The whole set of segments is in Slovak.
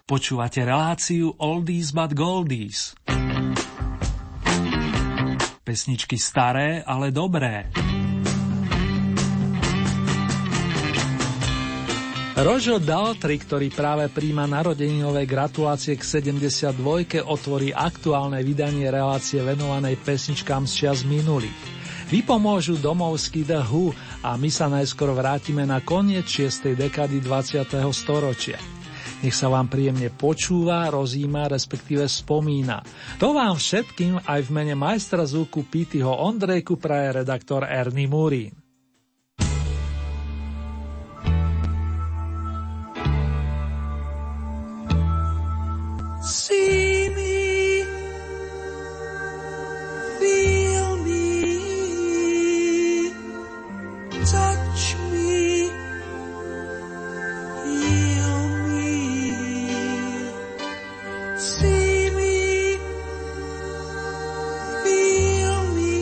Počúvate reláciu Oldies but Goldies. Pesničky staré, ale dobré. Roger Daltrey, ktorý práve príjma narodeninové gratulácie k 72, otvorí aktuálne vydanie relácie venovanej pesničkám z čias minulých. Vypomôžu domovský The Who a my sa najskôr vrátime na koniec 6. dekady 20. storočia. Nech sa vám príjemne počúva, rozíma, respektíve spomína. To vám všetkým aj v mene majstra zvuku Pítyho Ondrejku praje redaktor Ernie Murín. See me, feel me, touch me, heal me. See me, feel me,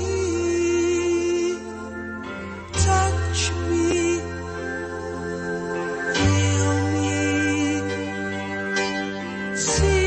touch me, heal me. See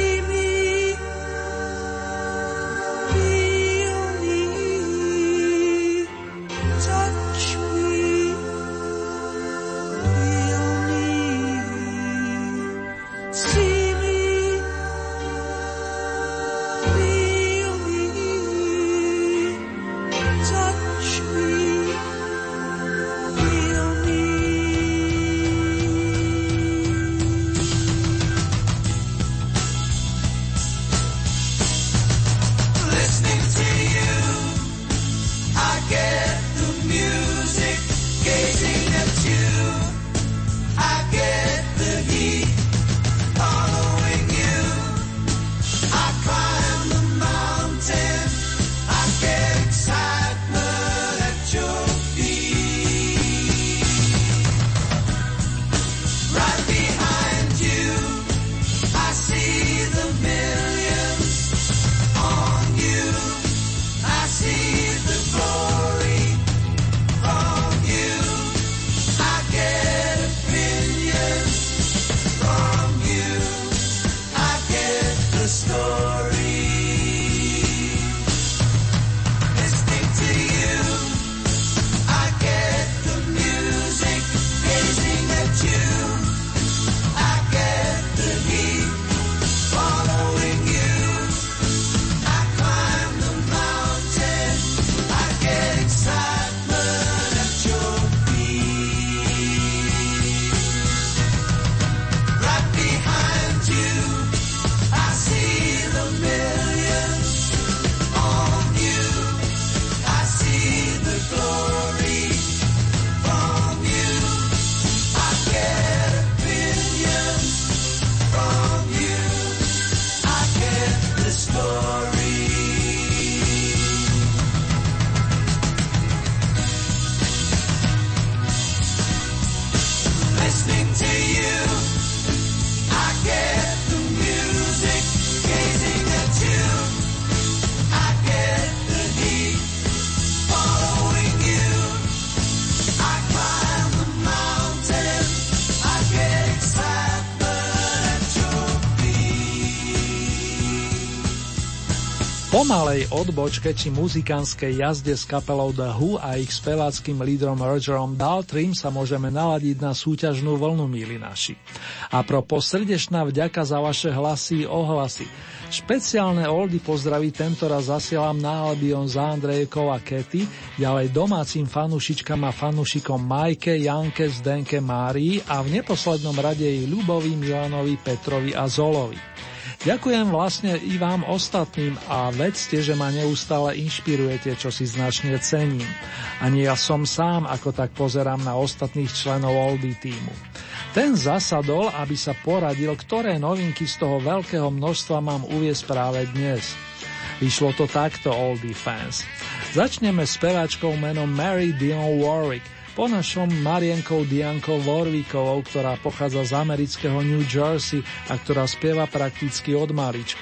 Po malej odbočke či muzikánskej jazde s kapelou The Who a ich speváckým lídrom Rogerom Daltreym sa môžeme naladiť na súťažnú vlnu, milí naši. A propos srdečná vďaka za vaše hlasy i ohlasy. Špeciálne oldy pozdraví tentoraz zasielam na Albion za Andrejkou a Kety, ďalej domácim fanúšičkám a fanúšikom Majke, Janke, Zdenke, Márii a v neposlednom rade jej Ľubovi, Milanovi, Petrovi a Zolovi. Ďakujem vlastne i vám ostatným a vedzte, že ma neustále inšpirujete, čo si značne cením. Ani ja som sám, ako tak pozerám na ostatných členov Oldie tímu. Ten zasadol, aby sa poradil, ktoré novinky z toho veľkého množstva mám uviesť práve dnes. Vyšlo to takto, Oldie fans. Začneme s speváčkou menom Mary Dion Warwick, po našom Marienkou Diankou Warwickovou, ktorá pochádza z amerického New Jersey a ktorá spieva prakticky od malička.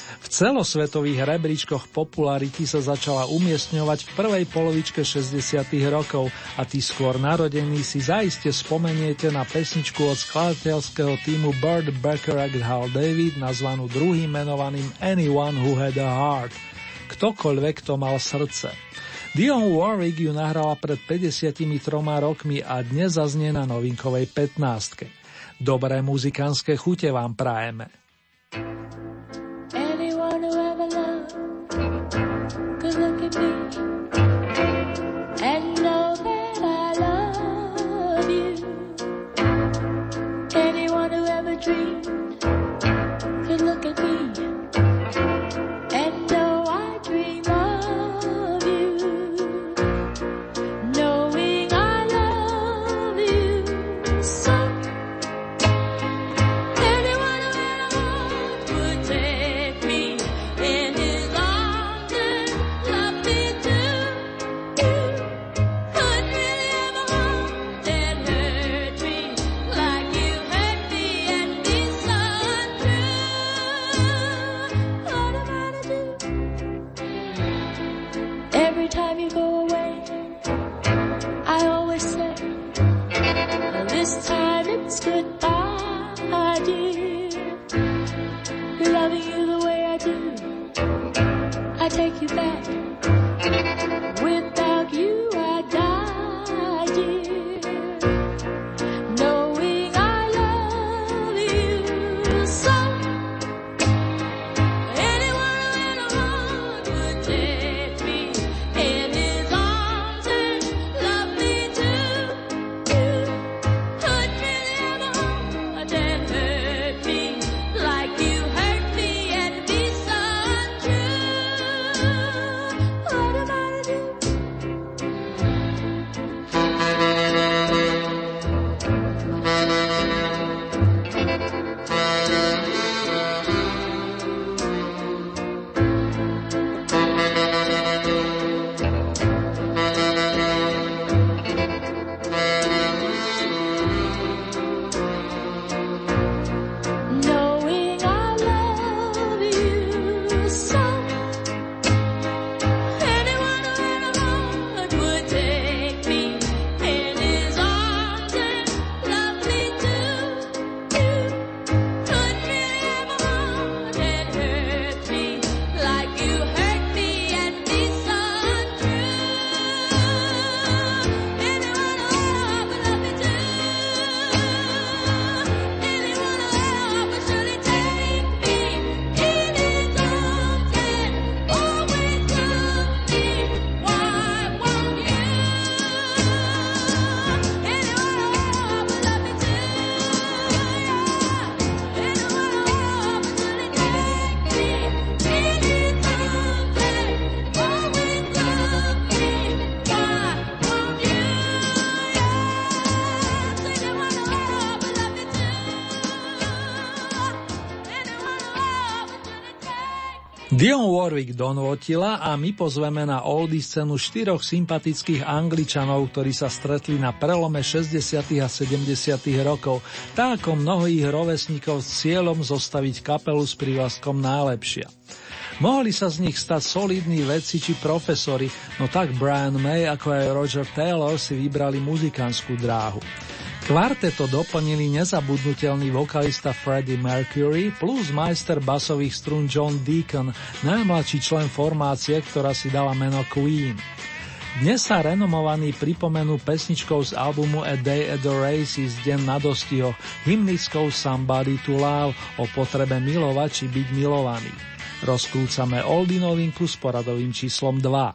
V celosvetových rebríčkoch popularity sa začala umiestňovať v prvej polovičke 60. rokov a tí skôr narodení si zaiste spomeniete na pesničku od skladateľského týmu Burt Bacharach Hal David nazvanú druhým menovaným Anyone Who Had a Heart. Ktokoľvek, kto mal srdce. Dionne Warwick ju nahrala pred 53 rokmi a dnes zaznie na novinkovej 15. Dobré muzikánske chute vám prajeme. Could look at me and know that I love you. Anyone who ever dreamed could look at me and know I dream of you. Knowing I love you so. Anyone who had a heart would take me in his arms and love me too. Could really ever hold and hurt me like you hurt me and be so untrue. What am I to do? Every time you go away, I always say, this time it's goodbye, dear. Loving you the way I do, I take you back. Without you, I die, dear. Knowing I love you so. Anyone who had a heart would take me in his arms and love me too. Could really ever hold and hurt me like you hurt me and be so untrue. What am I to do? Knowing I love you so. Anyone who had a heart would take me in his arms and love me too. Could really ever hold and hurt me like you hurt me and be so untrue. Anyone who had a heart would love me too. Anyone who had a heart would surely take me in his arms and always love me. Why won't you? Anyone who had a heart would love me too. Anyone who had a heart would surely take me in his arms and always love me. Why won't you? Anyone who had a heart would love me too. Dionne Warwick donvotila a my pozveme na oldie scénu 4 sympatických Angličanov, ktorí sa stretli na prelome 60. a 70. rokov, tak ako mnohých rovesníkov s cieľom zostaviť kapelu s prívlastkom Najlepšia. Mohli sa z nich stať solidní vedci či profesori, no tak Brian May ako aj Roger Taylor si vybrali muzikantskú dráhu. Kvarteto doplnili nezabudnutelný vokalista Freddie Mercury plus majster basových strún John Deacon, najmladší člen formácie, ktorá si dala meno Queen. Dnes sa renomovaní pripomenú pesničkou z albumu A Day at the Races, Deň na dostihoch, hymnickou Somebody to Love, o potrebe milovať či byť milovaný. Rozklúcame oldie novinku s poradovým číslom 2.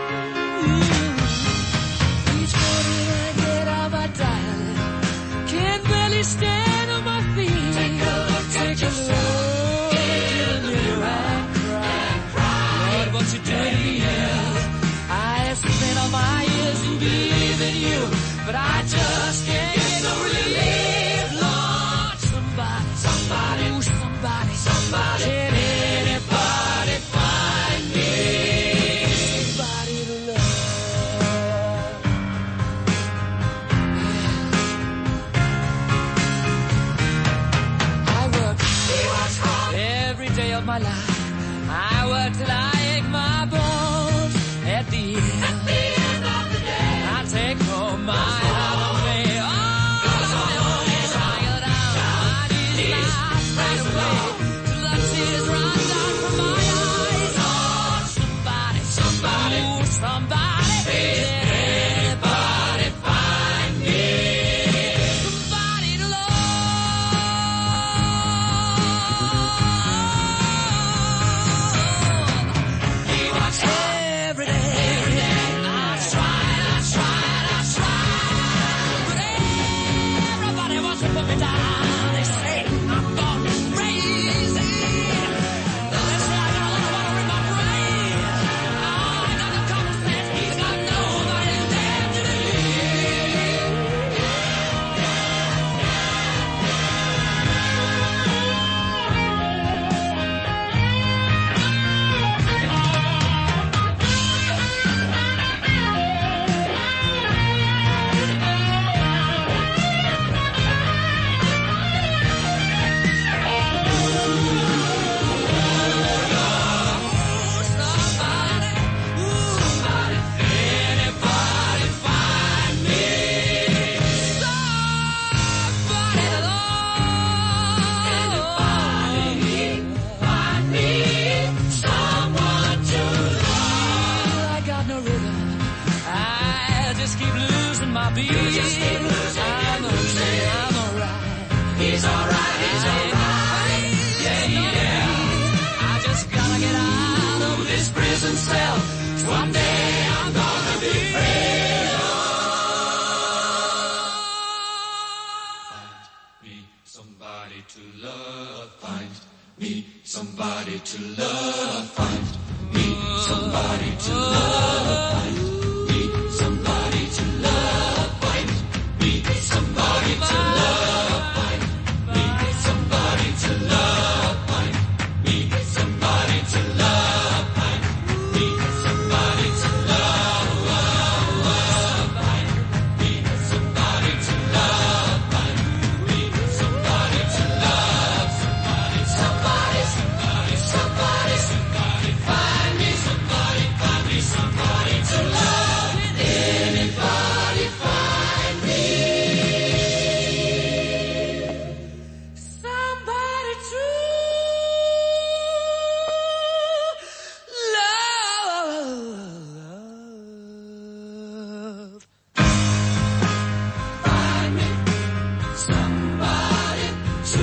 Each morning I get out my diary, just keep losing my beat. You just keep losing, I'm losing. I'm alright. He's alright, he's alright. Yeah, yeah. I just gotta get out of this prison cell. One day I'm gonna be free. Somebody to love, find me somebody to love, find me somebody to love, find me somebody to love, find me somebody to love, find me somebody to love, find me somebody to love, find me somebody to love, find me somebody to love, somebody, somebody. Somebody, find me somebody to love. Anybody find me somebody to love. Find me somebody to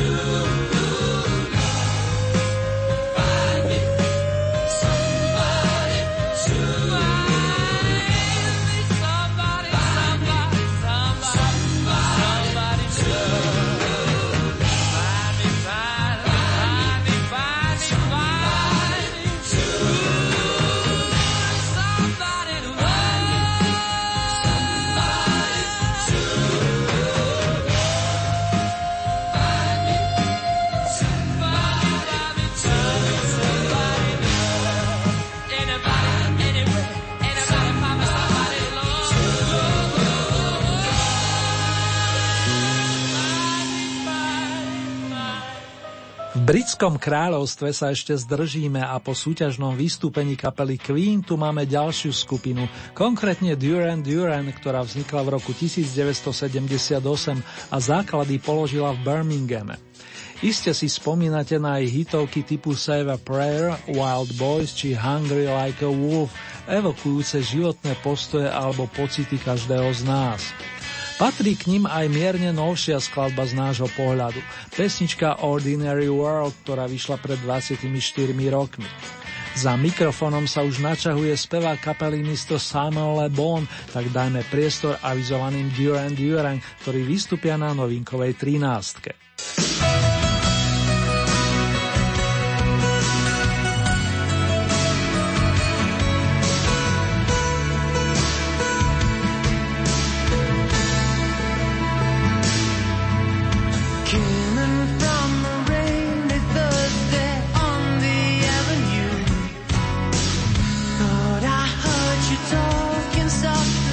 V britskom kráľovstve sa ešte zdržíme a po súťažnom vystúpení kapely Queen tu máme ďalšiu skupinu, konkrétne Duran Duran, ktorá vznikla v roku 1978 a základy položila v Birminghame. Iste si spomínate na jej hitovky typu Save a Prayer, Wild Boys či Hungry Like a Wolf, evokujúce životné postoje alebo pocity každého z nás. Patrí k nim aj mierne novšia skladba z nášho pohľadu, pesnička Ordinary World, ktorá vyšla pred 24 rokmi. Za mikrofónom sa už načahuje spevák kapely Mr. Simon Le Bon, tak dajme priestor avizovaným Duran Duran, ktorí vystúpia na novinkovej 13.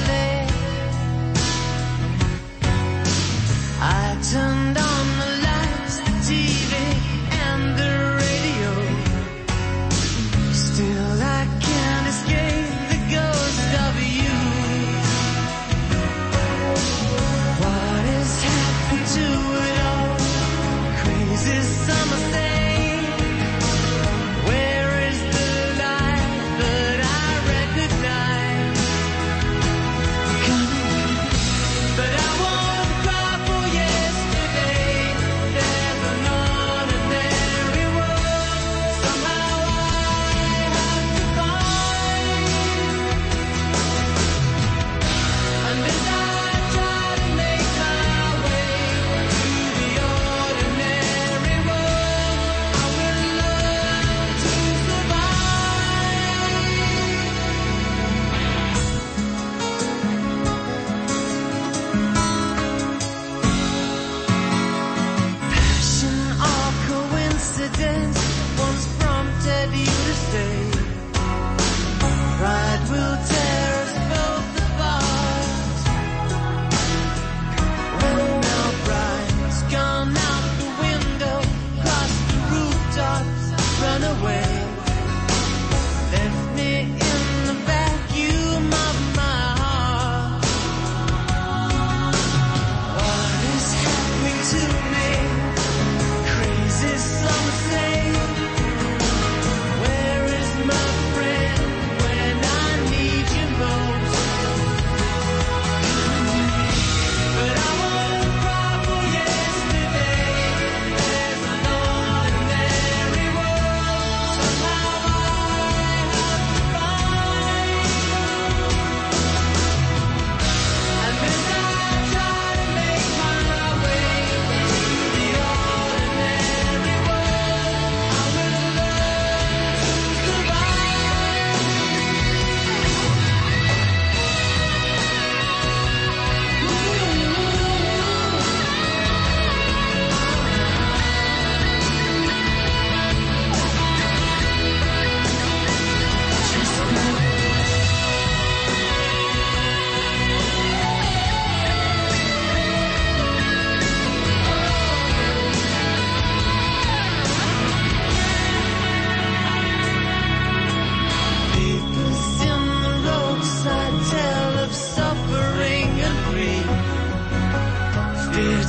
Turned on the light.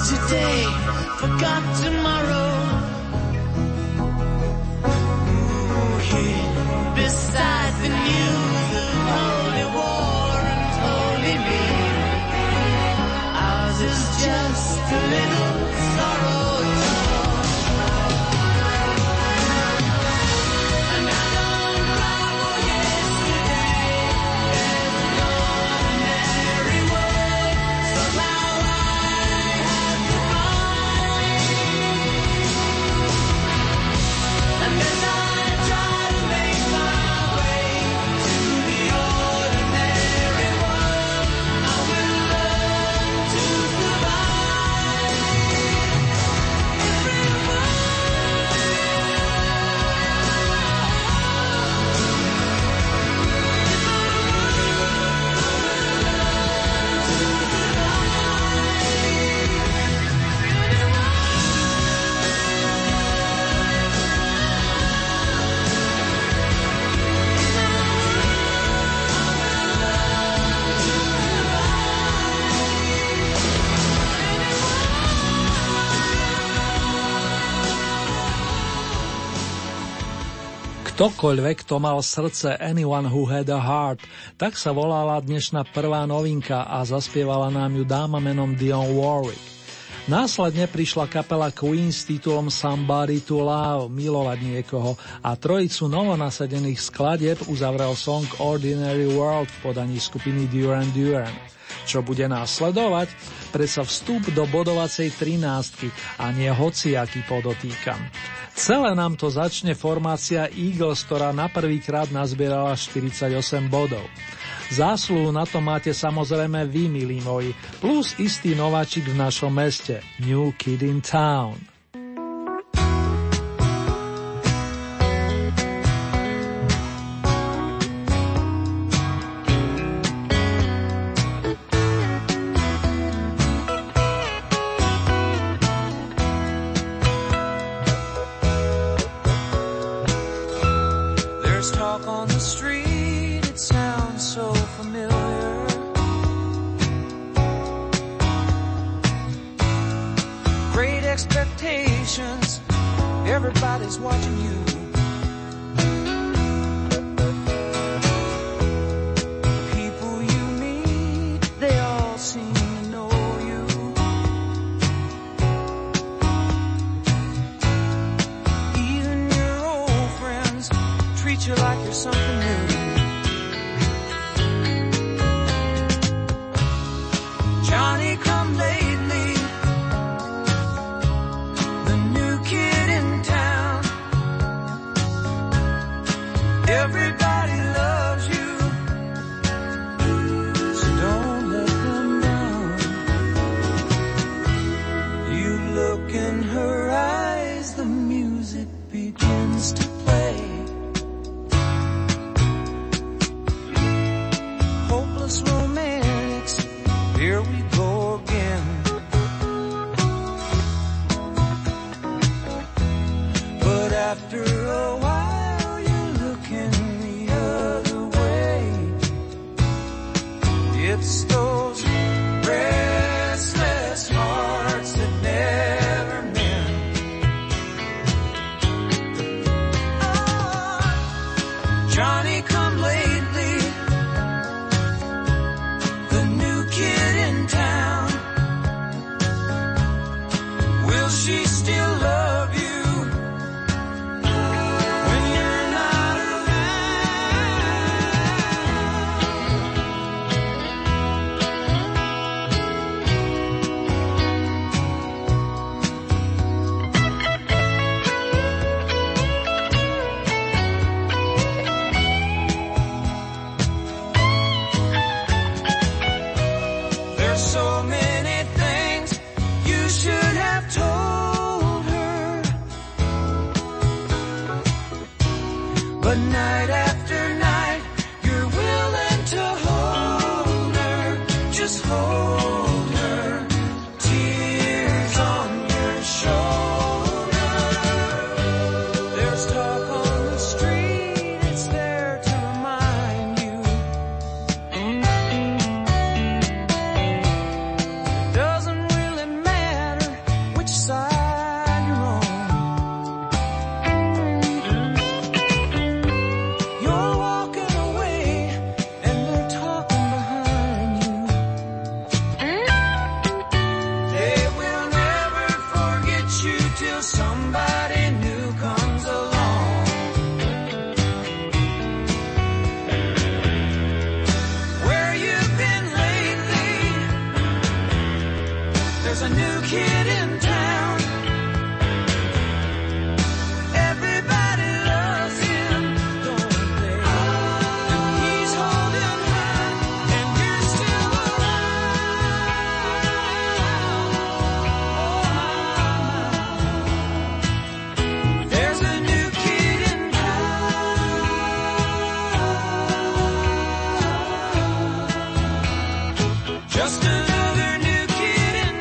today, forgot tomorrow. Ooh, here beside the news of holy war and holy me, ours is just a little sorrow. Ktokoľvek, kto mal srdce, Anyone Who Had a Heart, tak sa volala dnešná prvá novinka a zaspievala nám ju dáma menom Dionne Warwick. Následne prišla kapela Queen s titulom Somebody to Love, milovať niekoho, a trojicu novonasadených skladieb uzavrel song Ordinary World v podaní skupiny Duran Duran. Čo bude následovať? Predsa vstup do bodovacej 13 a nie hociaký, podotýkam. Celé nám to začne formácia Eagles, ktorá na prvýkrát nazbierala 48 bodov. Zásluhu na to máte samozrejme vy, milí moji, plus istý nováčik v našom meste, New Kid in Town. Everybody's watching you. People you meet, they all seem to know you. Even your old friends treat you like you're something new. Johnny come lately, the new kid in town. Everybody loves you, so don't let them down. You look in her eyes, the music begins to play. Hopeless romantics, here we go again. But after a while you're looking the other way. It's those restless hearts that never mend. Oh, Johnny come lately, the new kid in town. Will she still love you when you're not There's so many things you should have told her, but night after night you're willing to hold her, just hold her, tears on your shoulder. There's talk on the street, it's there to remind you. Doesn't really matter There's a new kid in town. Everybody loves him, don't they? And he's holding her, and you're still around. There's a new kid in town. Just another new kid in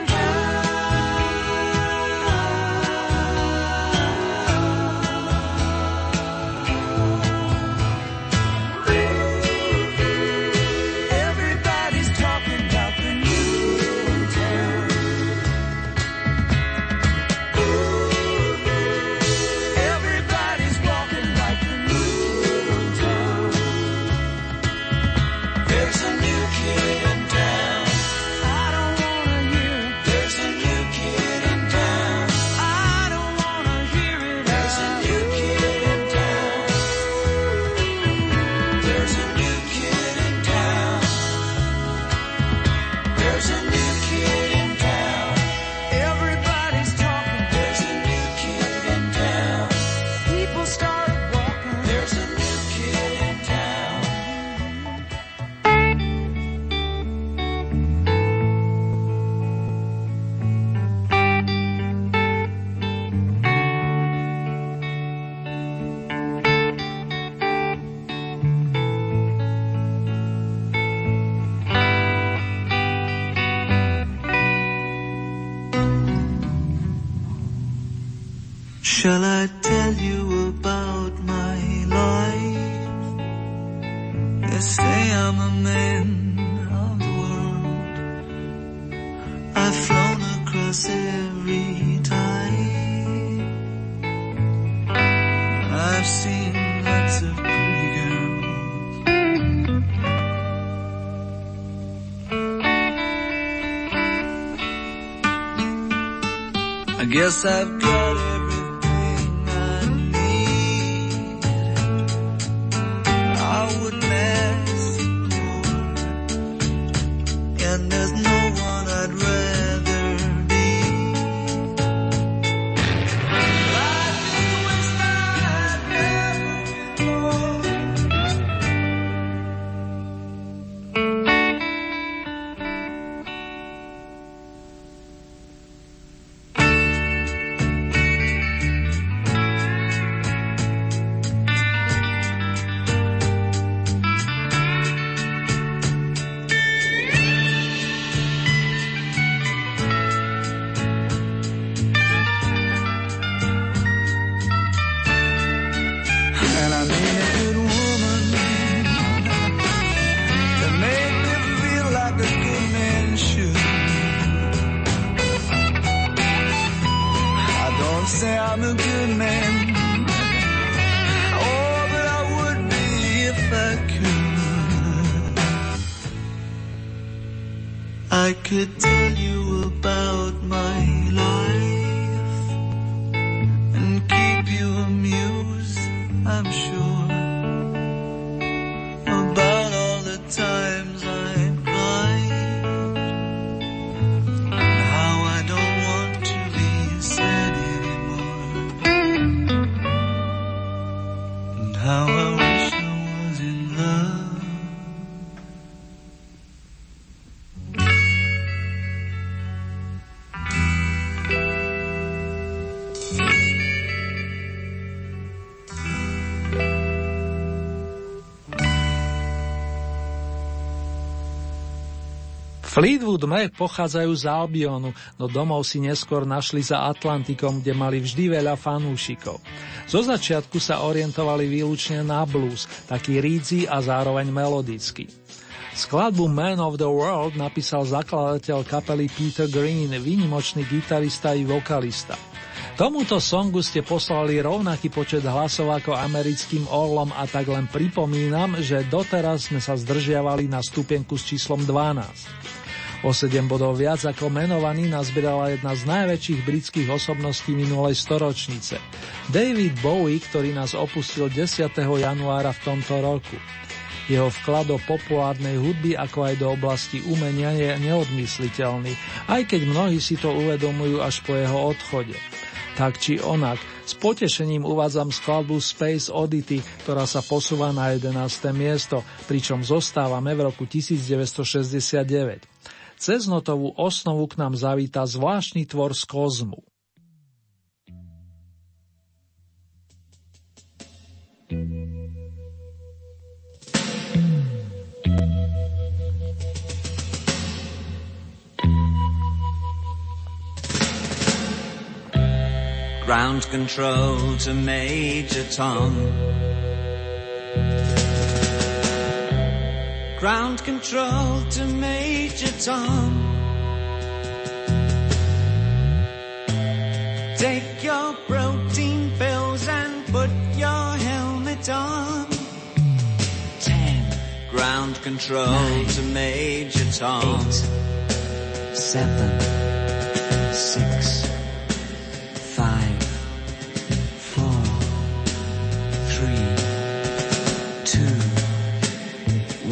Everybody's talking about the new kid in town. Everybody's walking like the new kid in town. There's a new kid in town. I don't wanna hear it. There's a new kid in town. I don't wanna hear it. There's a new kid in town. There's a new kid in town. There's a new kid in town. Everybody's talking. There's a new kid in town. People start walking. There's a new kid in town. Shall I tell you about my life? They say I'm a man of the world. I've flown across every tide. I've seen lots of pretty girls. I guess I've got everything I need. I wouldn't ask more, and there's no one I'd rather be. Life is a wasteland I've never before. And I need a good woman to make me feel like a good man should. I don't say I'm a good man, oh, but I would be if I could. I could tell you about my life and keep you amused, I'm sure, about all the times I cried, and how I don't want to be sad anymore, and how I wish I was in love. Fleetwood Mac pochádzajú z Albionu, no domov si neskôr našli za Atlantikom, kde mali vždy veľa fanúšikov. Zo začiatku sa orientovali výlučne na blues, taký rídzy a zároveň melodický. Skladbu Man of the World napísal zakladateľ kapely Peter Green, výnimočný gitarista i vokalista. Tomuto songu ste poslali rovnaký počet hlasov ako americkým Orlom a tak len pripomínam, že doteraz sme sa zdržiavali na stupienku s číslom 12. O 7 bodov viac ako menovaný nazbierala jedna z najväčších britských osobností minulej storočnice. David Bowie, ktorý nás opustil 10. januára v tomto roku. Jeho vklad do populárnej hudby ako aj do oblasti umenia je neodmysliteľný, aj keď mnohí si to uvedomujú až po jeho odchode. Tak či onak, s potešením uvádzam skladbu Space Oddity, ktorá sa posúva na 11. miesto, pričom zostávame v roku 1969. Cez notovú osnovu k nám zavíta zvláštny tvor z kozmu. Ground control to Major Tom. Ground control to Major Tom. Take your protein pills and put your helmet on. 10. Ground control 9, to Major Tom. 8, 7, 6, 5, 4, 3, 2,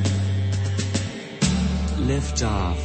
1. Lift off.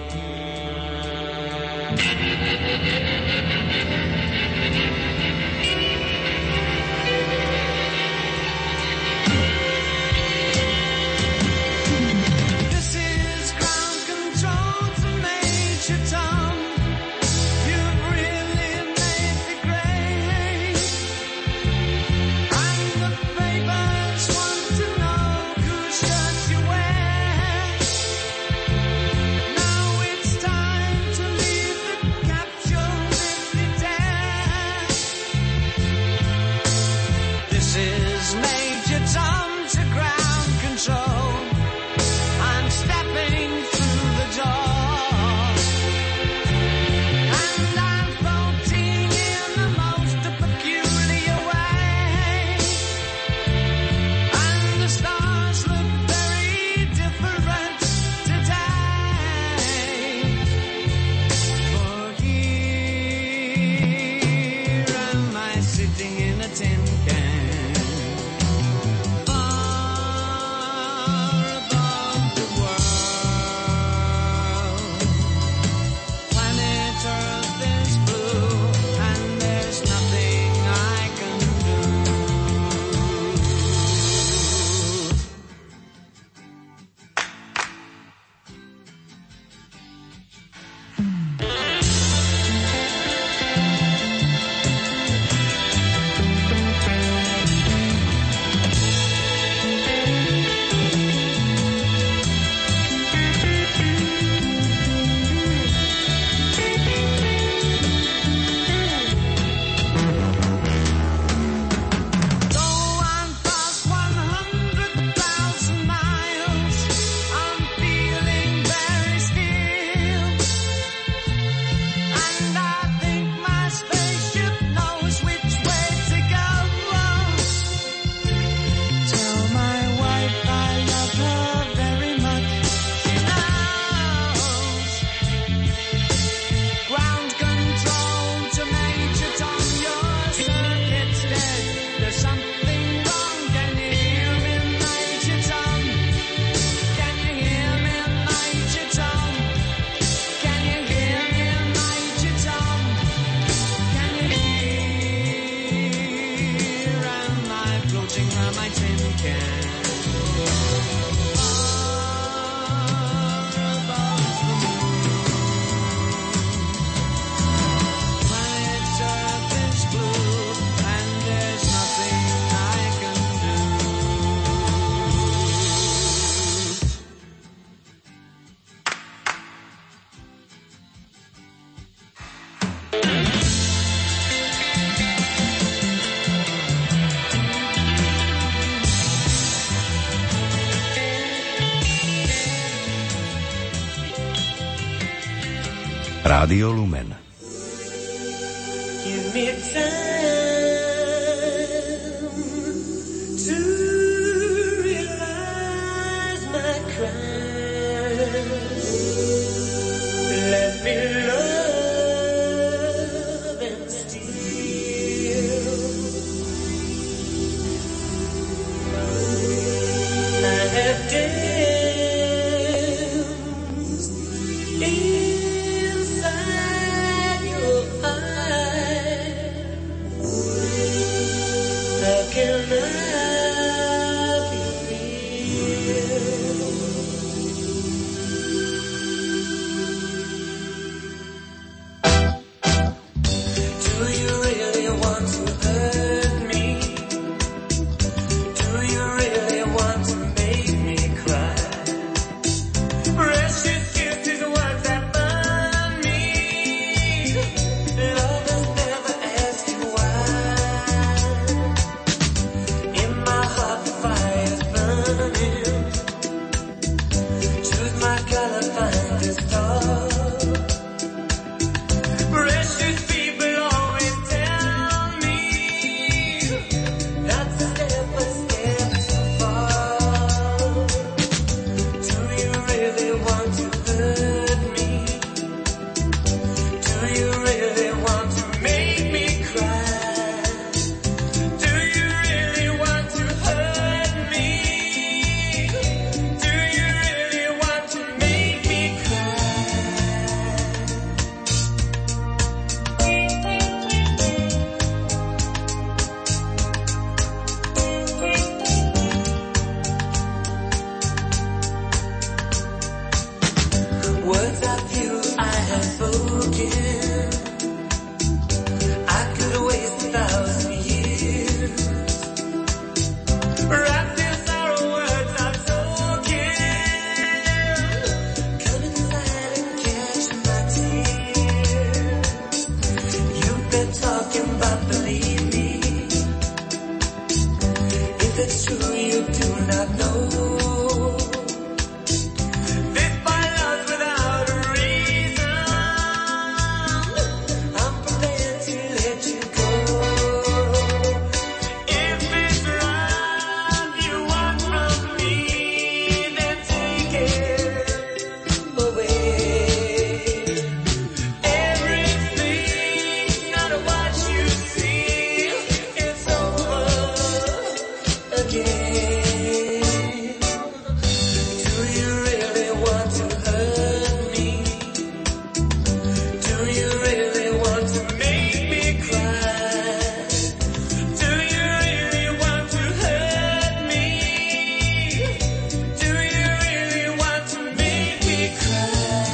Rádio Lumen. Give me time to realize my crime. Let me love and steal. And inside your eyes. How can I be real? Do you really want to hurt me? Do you really want to make me cry? Precious kisses, words that burn me. Lovers never ask you why. In my heart the fire's burning. Choose my color, find a star. Precious people always tell me not to step a step too far. Do you really want to hurt me? Do you really want to make me cry? Do you really want to hurt me? Do you really want to make me cry? Words of you I have spoken, I could waste 1,000 years. Wrapped in sorrow, words I've spoken. Come inside and catch my tears. You've been talking, but believe me, if it's true you do not know. This my love's without a reason. I'm prepared to let you go. If it's love you want from me, then take it away. Everything's not what you see. It's over again. Do you really want to hurt me? Do you really want to make me cry? Do you really want to hurt me? Do you really want to make me cry?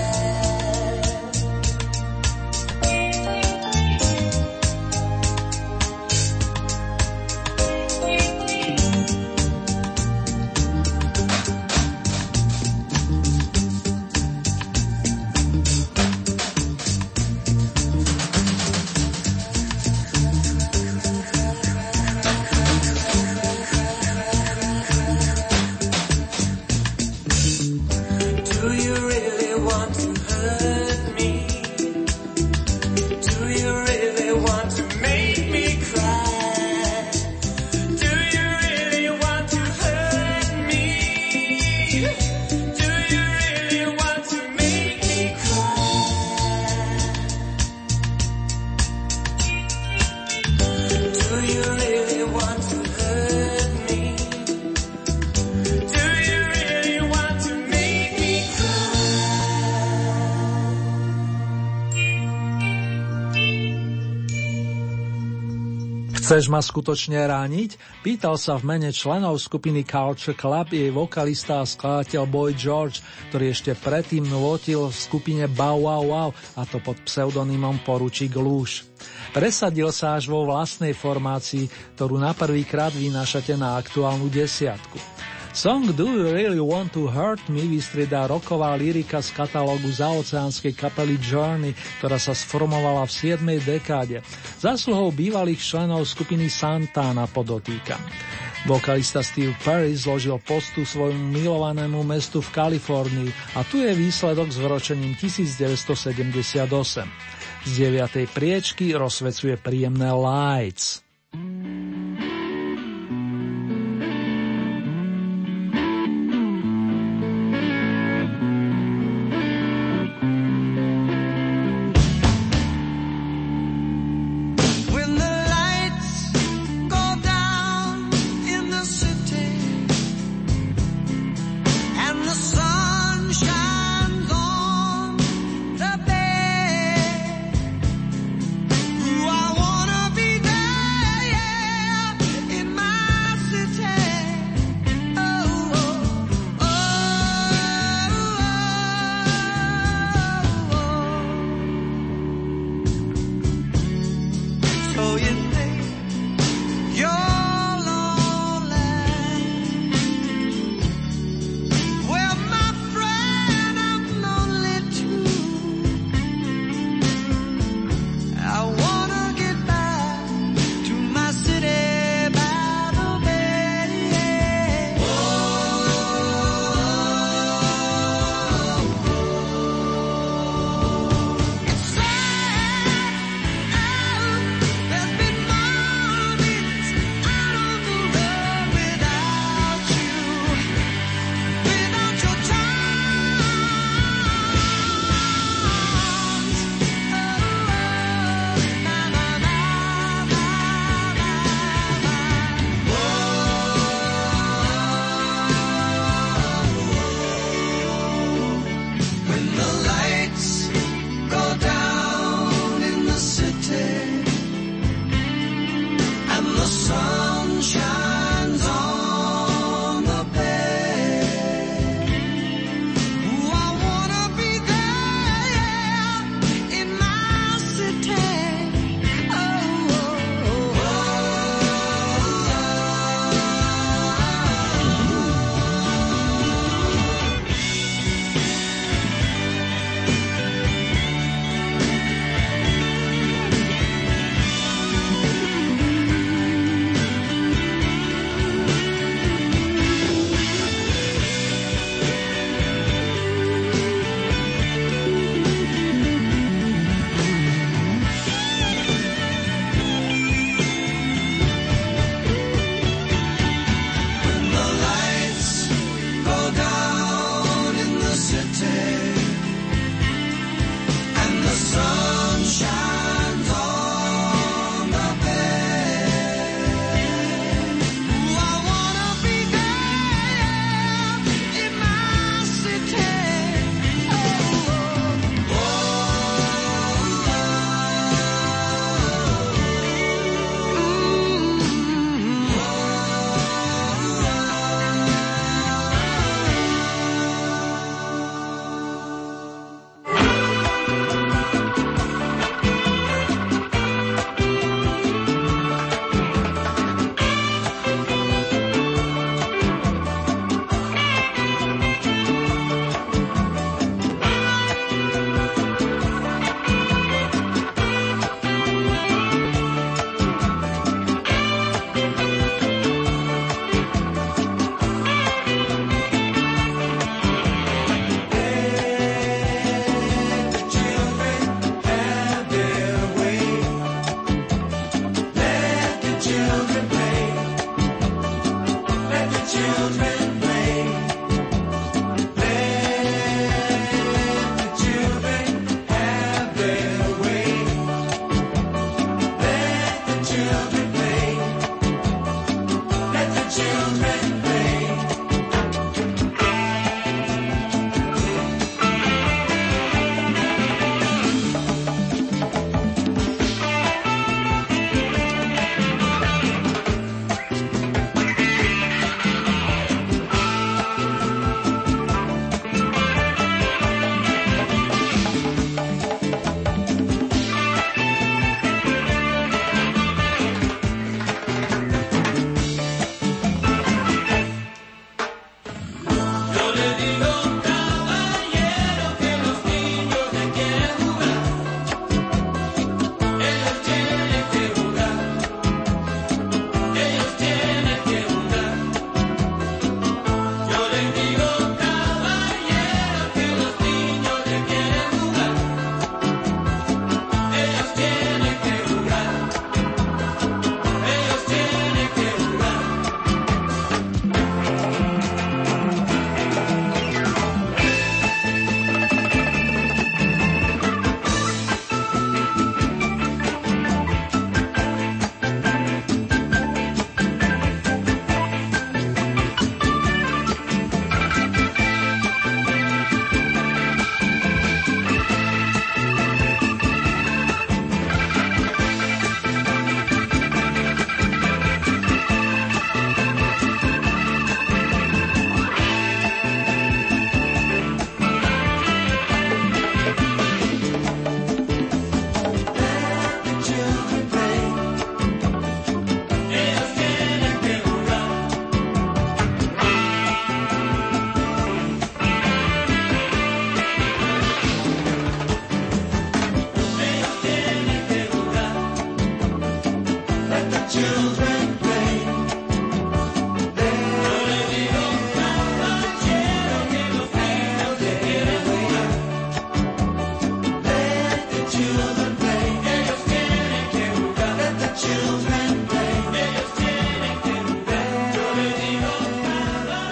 Do you really want to hurt me? Do you really want to make me cry? Do you really want to hurt me? Do you really want to make me cry? Do you really want to hurt me? Do you really want to make me cry? Chceš ma skutočne rániť? Pýtal sa v mene členov skupiny Culture Club jej vokalista a skladateľ Boy George, ktorý ešte predtým nôtil v skupine Bow Wow Wow, a to pod pseudonymom Poručík Lúž. Presadil sa až vo vlastnej formácii, ktorú na prvýkrát vynášate na aktuálnu desiatku. Song Do You Really Want to Hurt Me vystriedá rocková lyrika z katalógu zaoceánskej kapely Journey, ktorá sa sformovala v 7. dekáde. Zásluhou bývalých členov skupiny Santana podotýkam. Vokalista Steve Perry zložil postu svojmu milovanému mestu v Kalifornii a tu je výsledok s vročením 1978. Z 9. priečky rozsvecuje príjemné Lights. And the sun shines on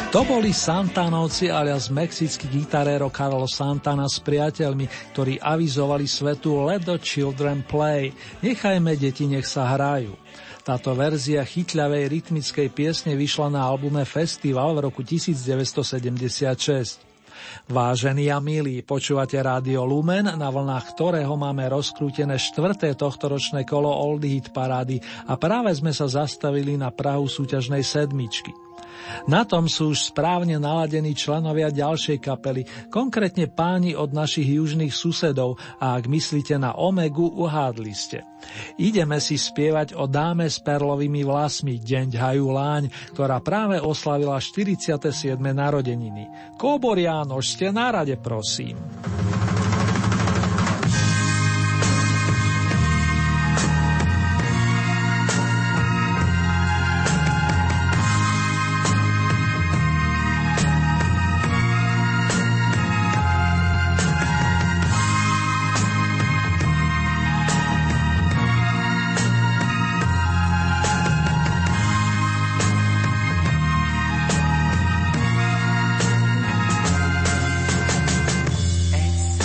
To boli Santanovci alias mexický gitaréro Carlos Santana s priateľmi, ktorí avizovali svetu Let the Children Play. Nechajme deti, nech sa hrajú. Táto verzia chytľavej rytmickej piesne vyšla na albume Festival v roku 1976. Vážení a milí, počúvate Rádio Lumen, na vlnách ktorého máme rozkrútené 4. tohtoročné kolo Oldie Hit parády a práve sme sa zastavili na prahu súťažnej sedmičky. Na tom sú už správne naladení členovia ďalšej kapely, konkrétne páni od našich južných susedov, a ak myslíte na Omegu, uhádli ste. Ideme si spievať o dáme s perlovými vlasmi Deň Láň, ktorá práve oslavila 47. narodeniny. Kóboriánoš, ste na rade, prosím. It's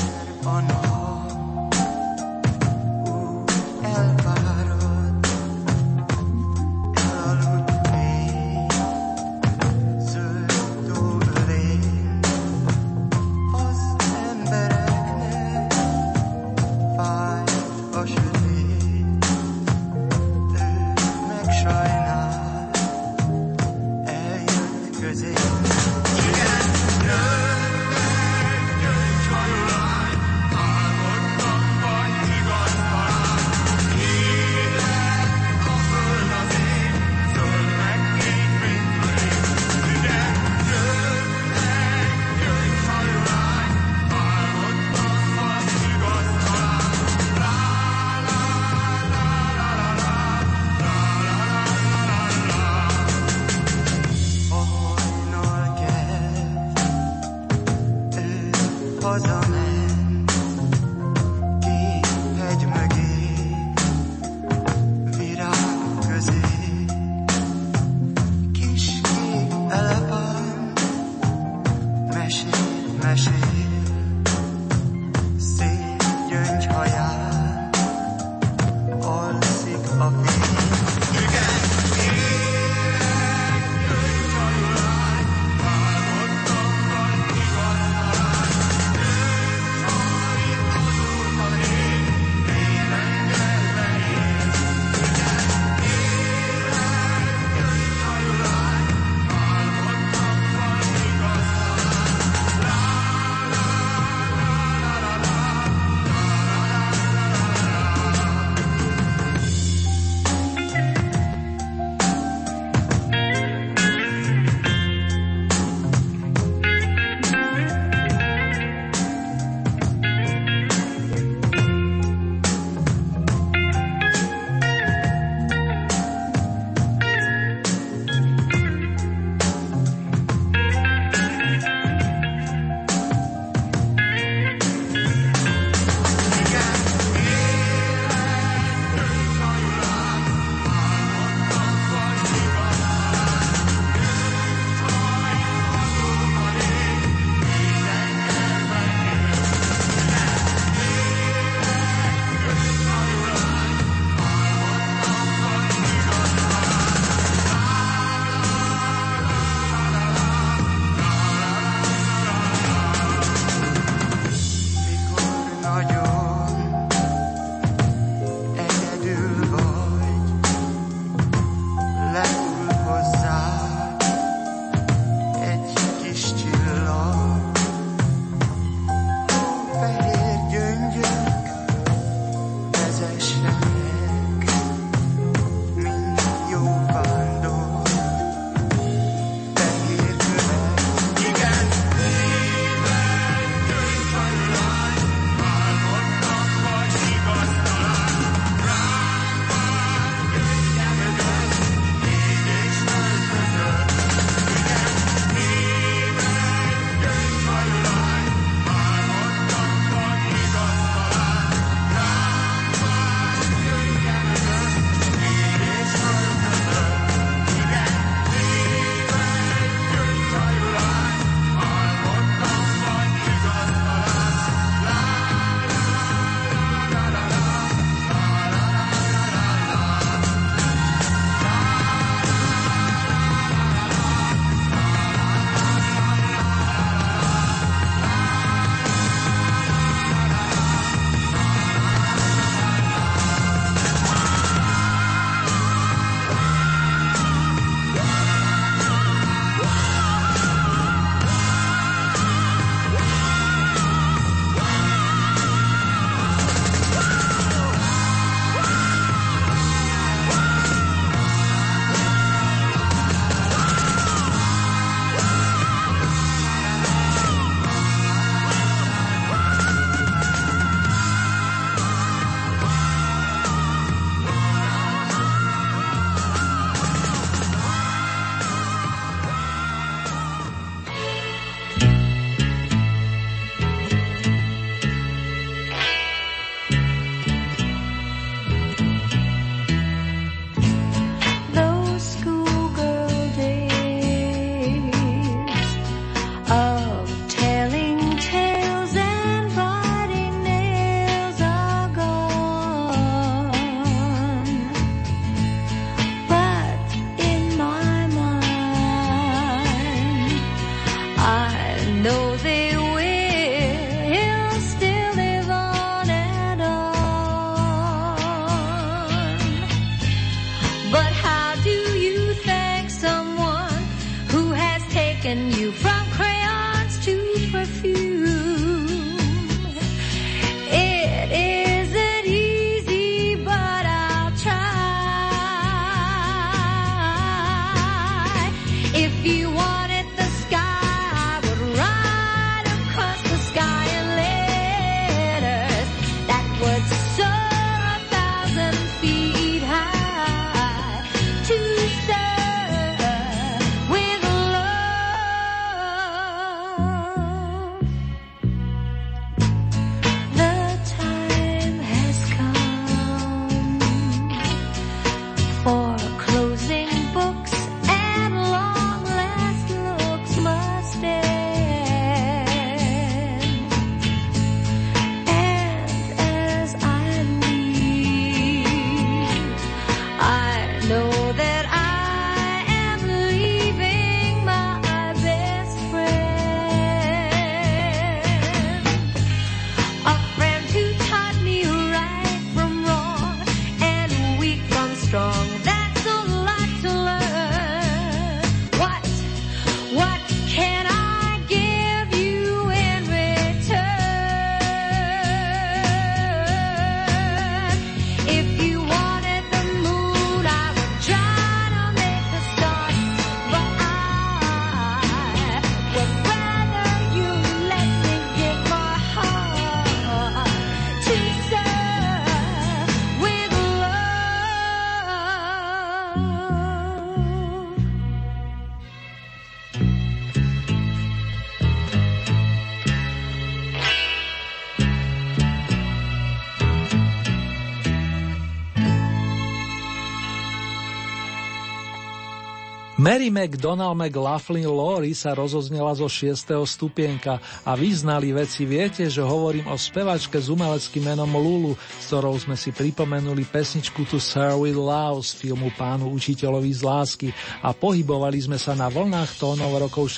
Mary McDonald McLaughlin Laurie sa rozoznela zo 6. stupienka a vyznali veci viete, že hovorím o spevačke s umeleckým menom Lulu, s ktorou sme si pripomenuli pesničku To Serve With Love z filmu Pánu učiteľovi z lásky a pohybovali sme sa na vlnách tónov rokov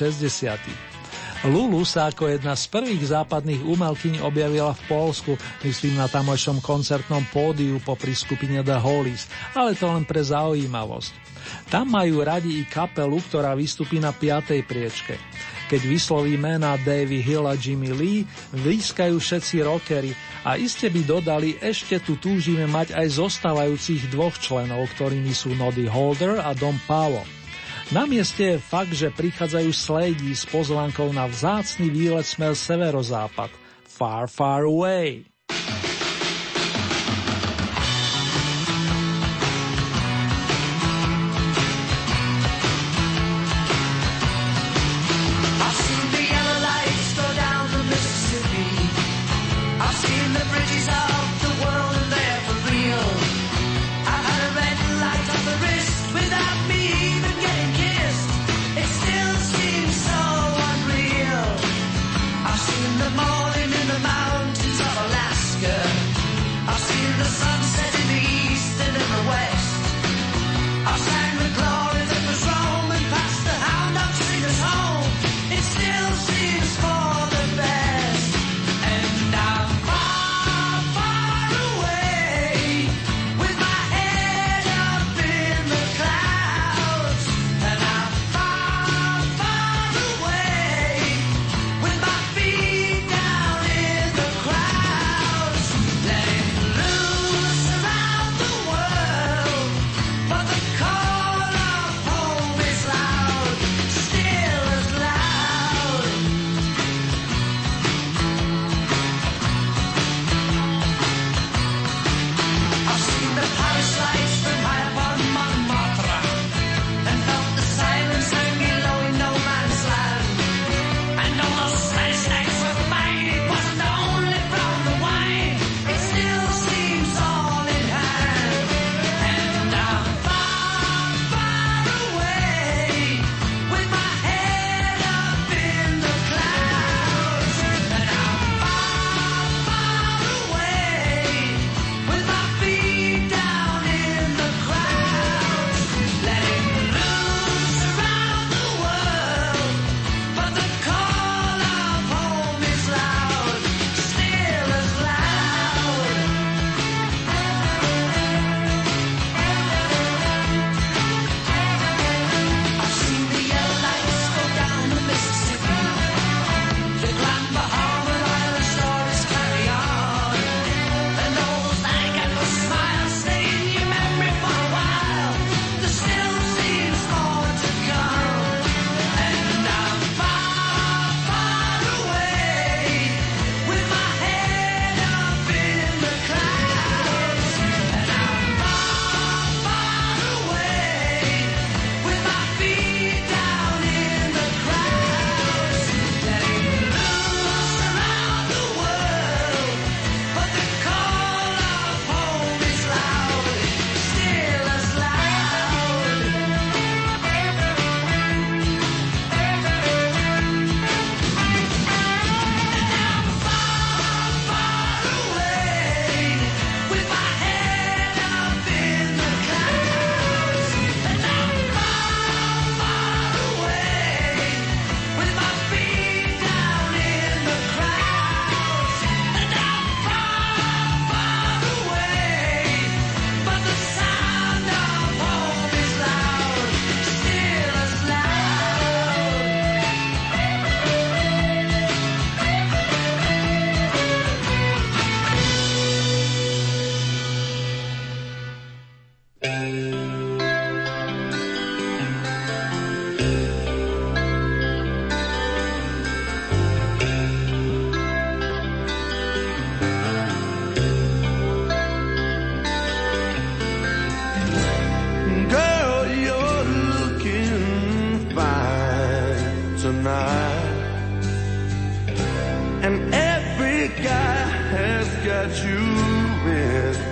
60. Lulu sa ako jedna z prvých západných umelkyň objavila v Poľsku, myslím na tamojšom koncertnom pódiu popri skupine The Hollies, ale to len pre zaujímavosť. Tam majú radi i kapelu, ktorá vystupí na 5. priečke. Keď vysloví mená Davy Hill a Jimmy Lee, blízkajú všetci rockery a iste by dodali, ešte tu túžime mať aj zostávajúcich 2 členov, ktorými sú Noddy Holder a Don Powell. Na mieste je fakt, že prichádzajú Slady s pozvánkou na vzácny výlet smer severozápad. Far, far away.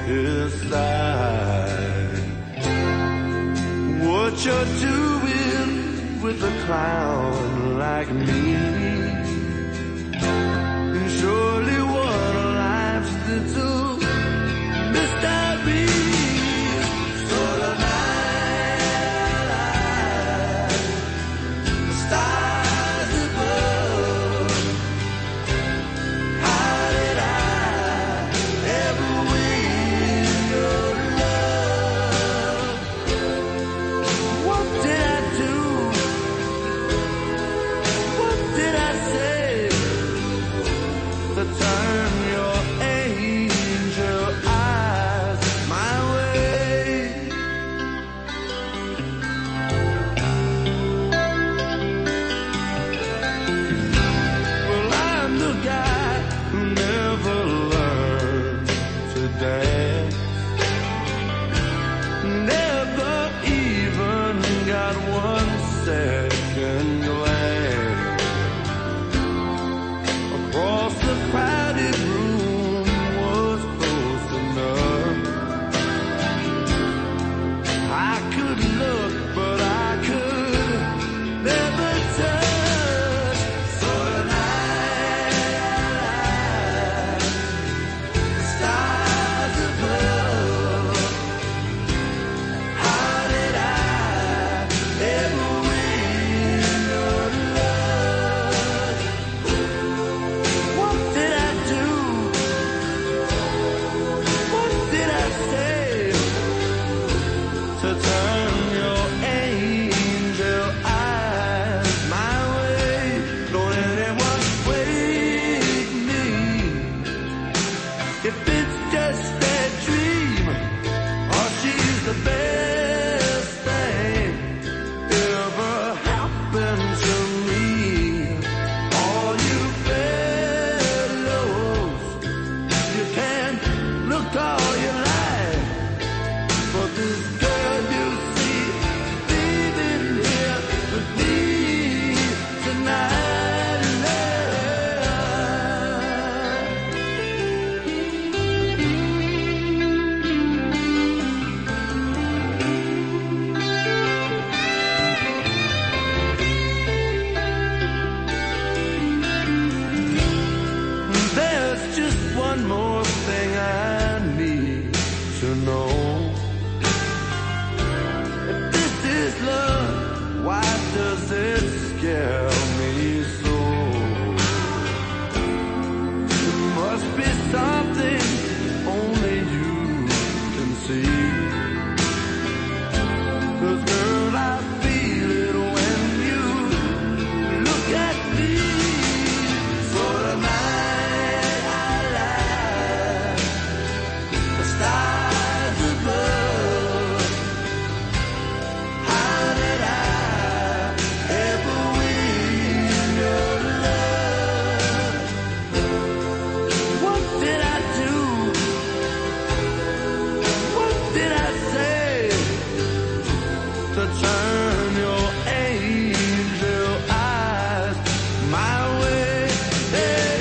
What you're doing with a clown like me. And surely what a life's little mystery. So tonight, the stars above, how did I ever win your love? What did I do? What did I say to turn your angel eyes my way? Well, I'm the guy who never learned to dance, never even got 1 second glance across the crowded room was close enough. I could look, but I could never touch. So tonight, the stars above, how did I ever win your love? What did I do? What did I say to turn your angel eyes my way? Don't anyone wake me if it's just a dream, or she's the best thing ever happened to me. All you fellows, you can look all you like, but this girl you see leaving here with me tonight. There's just one more thing I need to know. If this is love, why does it scare me so? It must be something only you can see. 'Cause girl, I feel it when you look at me. So tonight I lie, the stars above, how did I ever win your love? What did I do? What did I say to turn your angel eyes my way? Hey,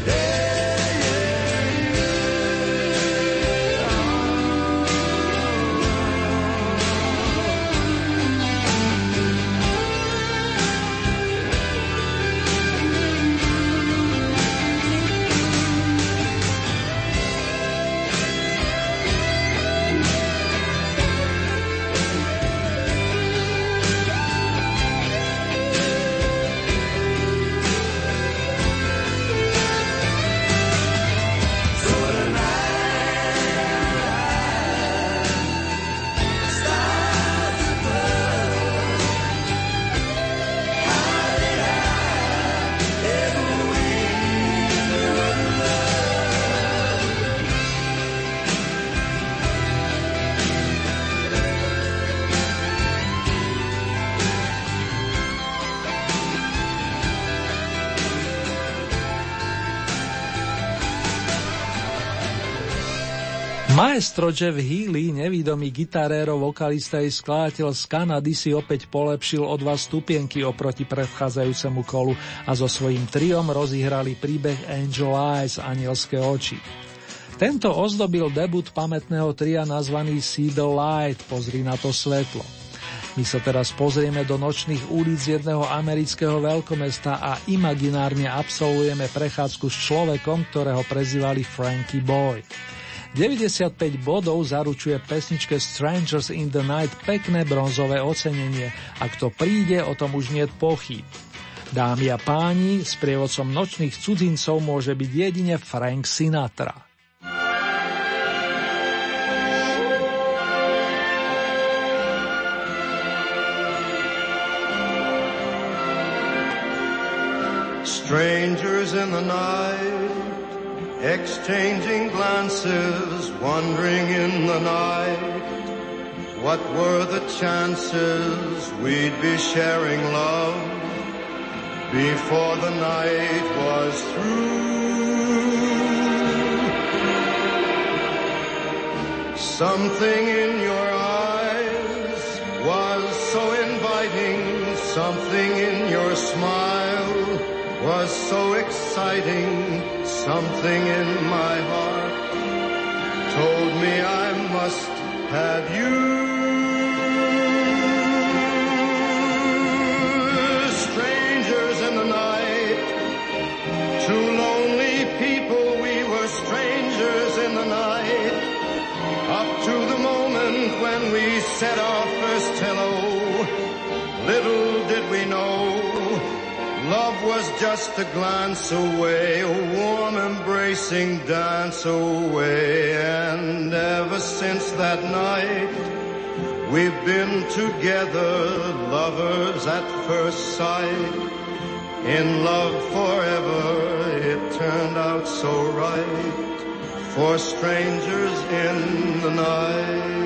Maestro Jeff Healey, nevídomý gitarérov, vokalista i skladateľ z Kanady, si opäť polepšil o 2 stupienky oproti predchádzajúcemu kolu a so svojím triom rozíhrali príbeh Angel Eyes, anielské oči. Tento ozdobil debut pamätného tria nazvaný See the Light, pozri na to svetlo. My sa teraz pozrieme do nočných ulic jedného amerického veľkomesta a imaginárne absolvujeme prechádzku s človekom, ktorého prezývali Frankie Boy. 95 bodov zaručuje pesničke Strangers in the Night pekné bronzové ocenenie a kto príde, o tom už niet pochýb. Dámy a páni, sprievodcom nočných cudzincov môže byť jedine Frank Sinatra. Strangers in the night, exchanging glances, wandering in the night. What were the chances we'd be sharing love before the night was through? Something in your eyes was so inviting, something in your smile was so exciting, something in my heart told me I must have you. Strangers in the night, two lonely people, we were strangers in the night, up to the moment when we said our first hello. Little did we know love was just a glance away, a warm embracing dance away. And ever since that night, we've been together, lovers at first sight. In love forever, it turned out so right, for strangers in the night.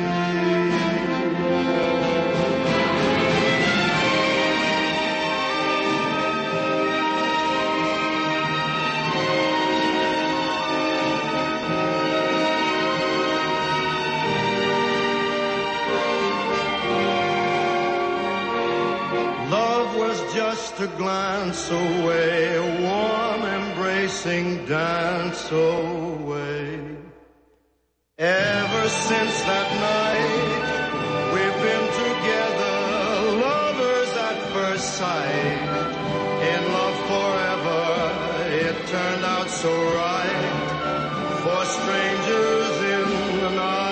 Just a glance away, a warm embracing dance away. Ever since that night, we've been together, lovers at first sight. In love forever, it turned out so right, for strangers in the night.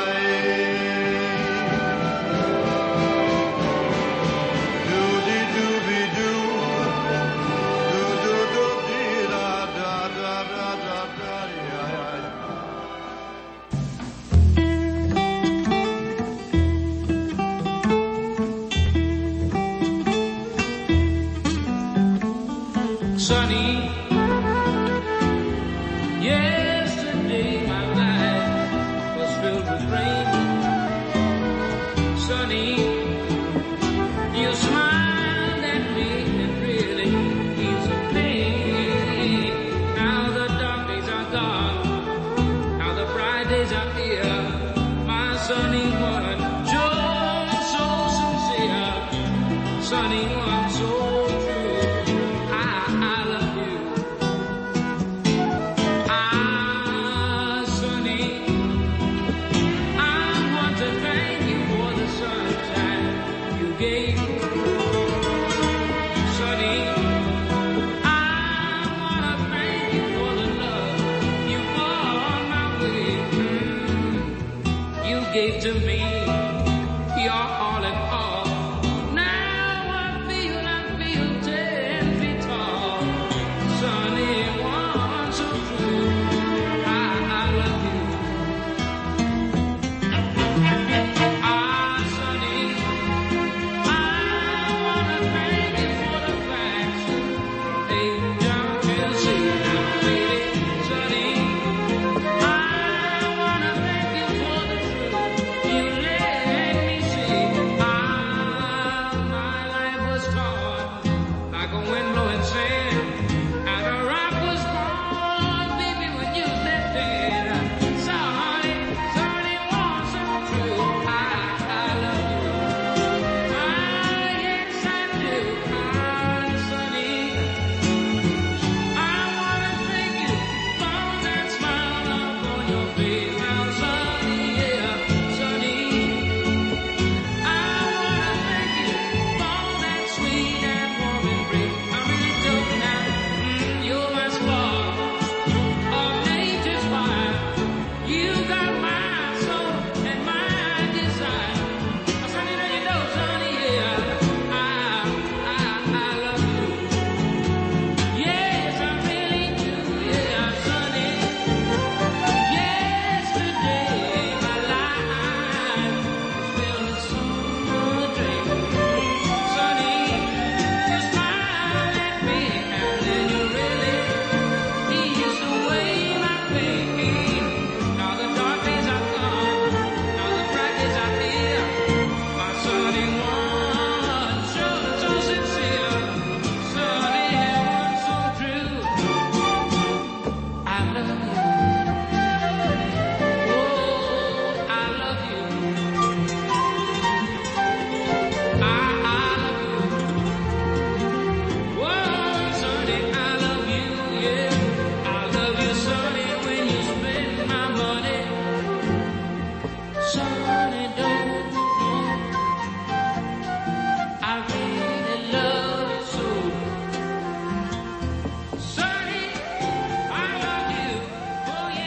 Sunny, yesterday my life was filled with rain. Sunny, you smiled at me and really eased the pain. Now the dark days are gone, now the bright days are here. My sunny one, just so sincere, sunny one, so gave to me, you're all in all. Now I feel 10 feet tall. Sunny one, so true, I love you. Sunny, I wanna thank you for the facts. Hey, don't you see now, baby, Sunny, I wanna thank you for the truth. You let me see my life was torn like a wind blowing sand, and a rock was born, baby, when you left there. Sorry, was so true. I love you. Yes, I do. Sunny, I wanna thank you for that smile up on your face. Now, Sunny, yeah, Sunny, I wanna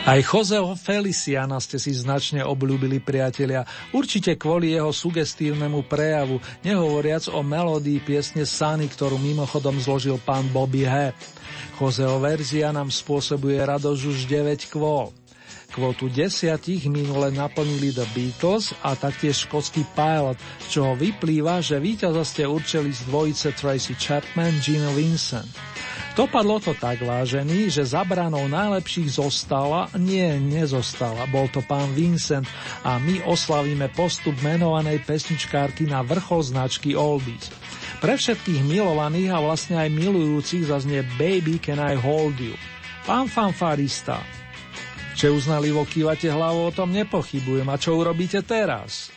Aj Joseho Feliciana ste si značne obľúbili, priatelia, určite kvôli jeho sugestívnemu prejavu, nehovoriac o melódii piesne Sunny, ktorú mimochodom zložil pán Bobby He. Joseho verzia nám spôsobuje radosť už 9 kvôl. Kvotu 10 minule naplnili The Beatles a taktiež škótsky Pilot, z čoho vyplýva, že víťaza ste určili z dvojice Tracy Chapman, Gene Vincent. Dopadlo to tak, vážený, že za branou najlepších nezostala, bol to pán Vincent a my oslavíme postup menovanej pesničkárky na vrchol značky Oldies. Pre všetkých milovaných a vlastne aj milujúcich zaznie Baby Can I Hold You. Pán fanfarista, že uznalivo kývate hlavou, o tom nepochybujem. A čo urobíte teraz?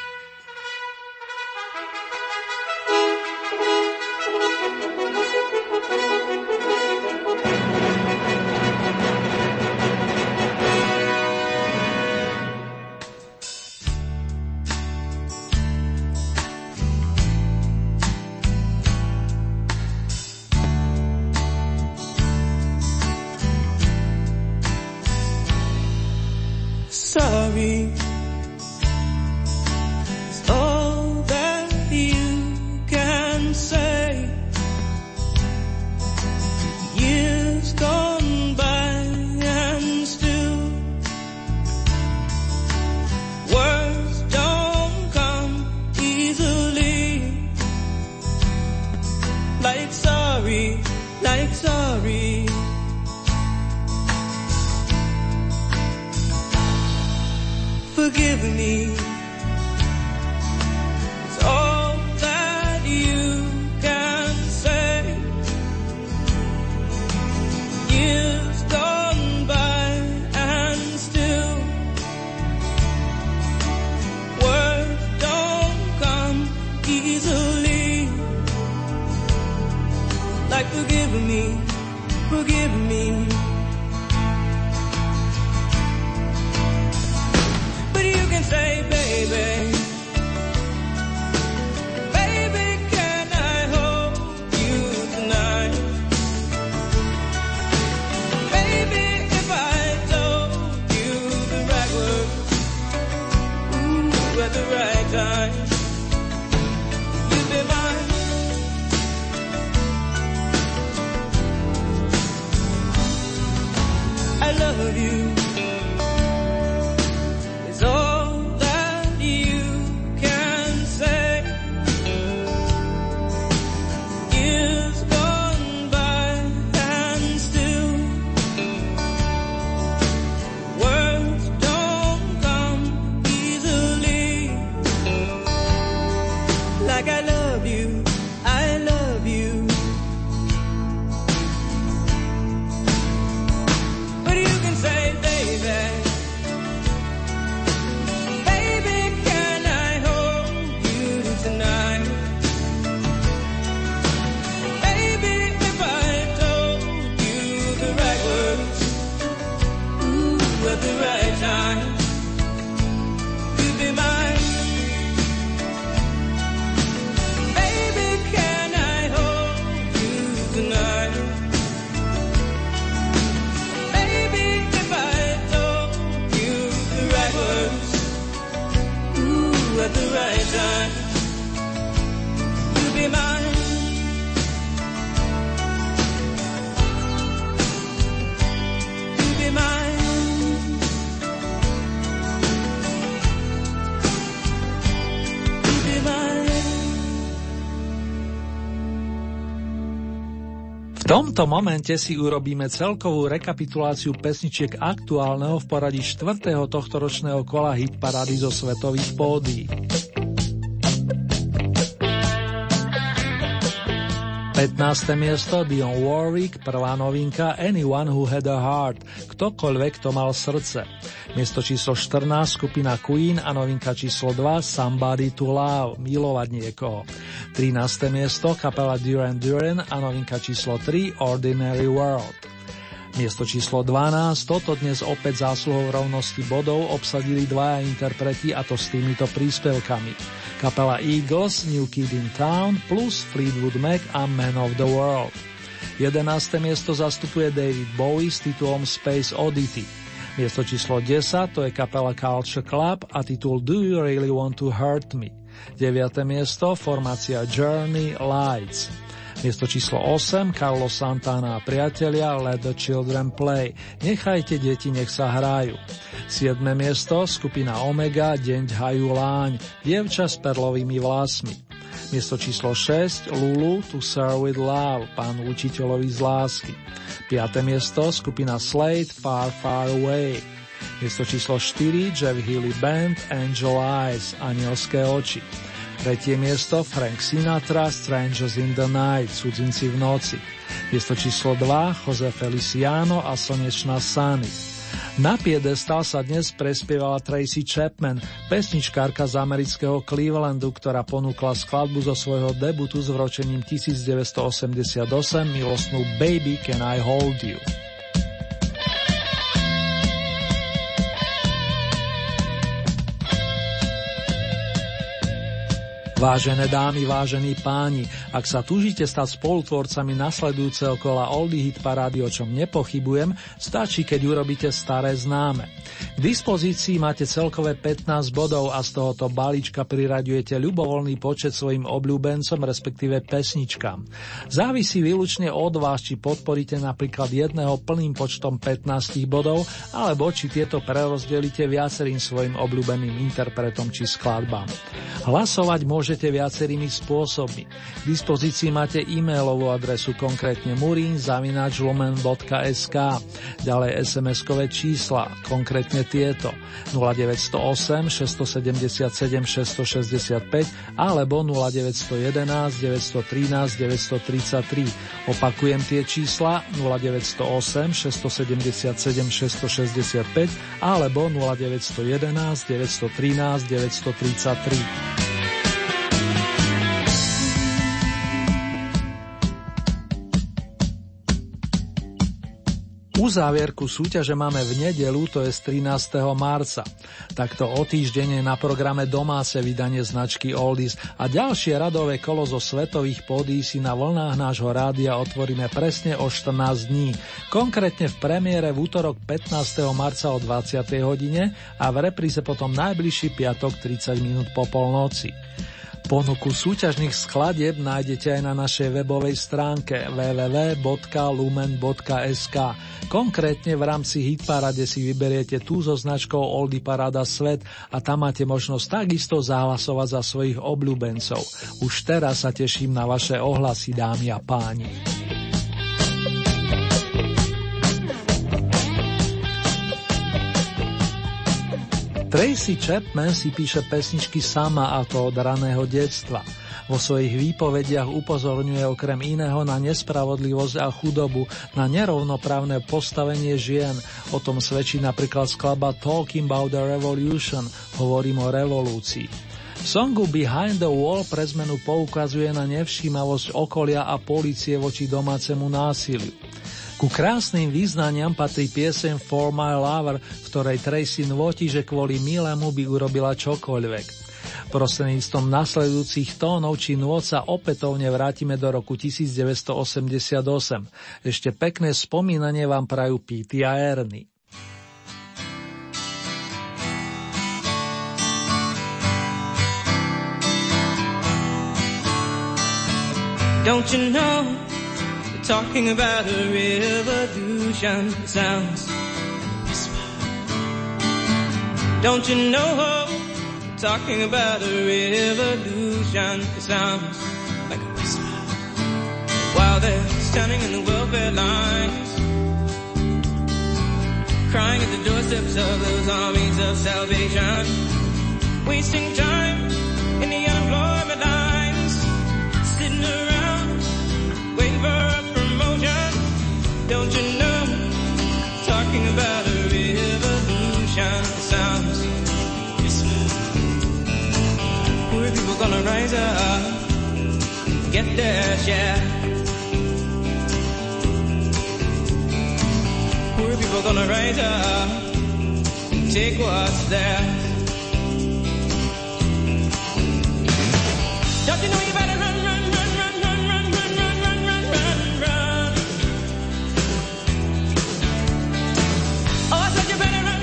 Sorry is all that you can say. Years gone by and still words don't come easily. Like sorry, like sorry. Forgive me, it's all that you can say. Years gone by and still words don't come easily. Like forgive me, forgive me. Say, baby, baby, can I hold you tonight? Baby, if I told you the right words, ooh, at the right time, you'd be mine. I love you. It's all V tomto momente si urobíme celkovú rekapituláciu pesničiek aktuálneho v poradí 4. tohtoročného kola hitparády zo svetových pódií. 15. miesto Dionne Warwick, prvá novinka Anyone Who Had a Heart, ktokoľvek to mal srdce. Miesto číslo 14 skupina Queen a novinka číslo 2 Somebody to Love, milovať niekoho. 13. miesto kapela Duran Duran a novinka číslo 3 Ordinary World. Miesto číslo 12, toto dnes opäť zásluhou rovnosti bodov obsadili dvaja interpreti, a to s týmito príspevkami. Kapela Eagles, New Kid in Town plus Fleetwood Mac a Man of the World. 11. miesto zastupuje David Bowie s titulom Space Oddity. Miesto číslo 10 to je kapela Culture Club a titul Do You Really Want to Hurt Me. 9. miesto formácia Journey Lights. Miesto číslo 8 Carlos Santana a priatelia Let the Children Play. Nechajte deti, nech sa hrajú. 7. miesto skupina Omega Deň hajú láň. Dievča s perlovými vlasmi. Miesto číslo 6 Lulu To Serve With Love, Pánu učiteľovi z lásky. 5. miesto skupina Slade Far Far Away. Miesto číslo 4 Jeff Healey Band Angel Eyes, Anielské oči. 3. miesto Frank Sinatra Strangers in the Night, Cudzinci v noci. Miesto číslo 2 Jose Feliciano a Slnečná Sunny. Na piedestal sa dnes prespievala Tracy Chapman, pesničkárka z amerického Clevelandu, ktorá ponúkla skladbu zo svojho debutu s vročením 1988 milostnú Baby Can I Hold You. Vážené dámy, vážení páni, ak sa túžite stať spolutvorcami nasledujúceho kola Oldie Hit Parády, o čom nepochybujem, stačí, keď urobíte staré známe. K dispozícii máte celkové 15 bodov a z tohoto balíčka priraďujete ľubovoľný počet svojim obľúbencom, respektíve pesničkám. Závisí výlučne od vás, či podporíte napríklad jedného plným počtom 15 bodov, alebo či tieto prerozdelíte viacerým svojim obľúbeným interpretom či skladbám. Hlasovať môžete viacerými spôsobmi. K dispozícii máte e-mailovú adresu, konkrétne murin@lumen.sk, ďalej SMS-kové čísla, konkrétne tieto 0908 677 665 alebo 0911 913 933. Opakujem tie čísla 0908 677 665 alebo 0911 913 933. Uzávierku súťaže máme v nedeľu, to je z 13. marca. Takto o týždeň je na programe domáce vydanie značky Oldies a ďalšie radové kolo zo svetových pódií si na vlnách nášho rádia otvoríme presne o 14 dní. Konkrétne v premiére v útorok 15. marca o 20. hodine a v repríze potom najbližší piatok 30 minút po polnoci. Ponuku súťažných skladieb nájdete aj na našej webovej stránke www.lumen.sk. Konkrétne v rámci Hitparade si vyberiete tú so značkou Oldie Paráda Svet a tam máte možnosť takisto zahlasovať za svojich obľúbencov. Už teraz sa teším na vaše ohlasy, dámy a páni. Tracy Chapman si píše pesničky sama, a to od raného detstva. Vo svojich výpovediach upozorňuje okrem iného na nespravodlivosť a chudobu, na nerovnoprávne postavenie žien. O tom svedčí napríklad skladba Talking About the Revolution, hovorím o revolúcii. V songu Behind the Wall pre zmenu poukazuje na nevšímavosť okolia a polície voči domácemu násiliu. Ku krásnym význaniam patrí pieseň For My Lover, v ktorej Tracy nvotí, že kvôli milému by urobila čokoľvek. Prostredníctvom nasledujúcich tónov či nôd sa opätovne vrátime do roku 1988. Ešte pekné spomínanie vám prajú Pete a Ernie. Don't you know, talking about a revolution sounds like a whisper. Don't you know, talking about a revolution sounds like a whisper. While they're standing in the welfare lines, crying at the doorsteps of those armies of salvation, wasting time in the unemployment lines, sitting around waiting for a promotion. Don't you know, talking about a revolution sounds whisper. Poor people gonna rise up, get their share. Poor people gonna rise up, take what's theirs. Don't you know you better run, run, run, run, run, run, run, run, run, run, run, run. Oh, I said you better run.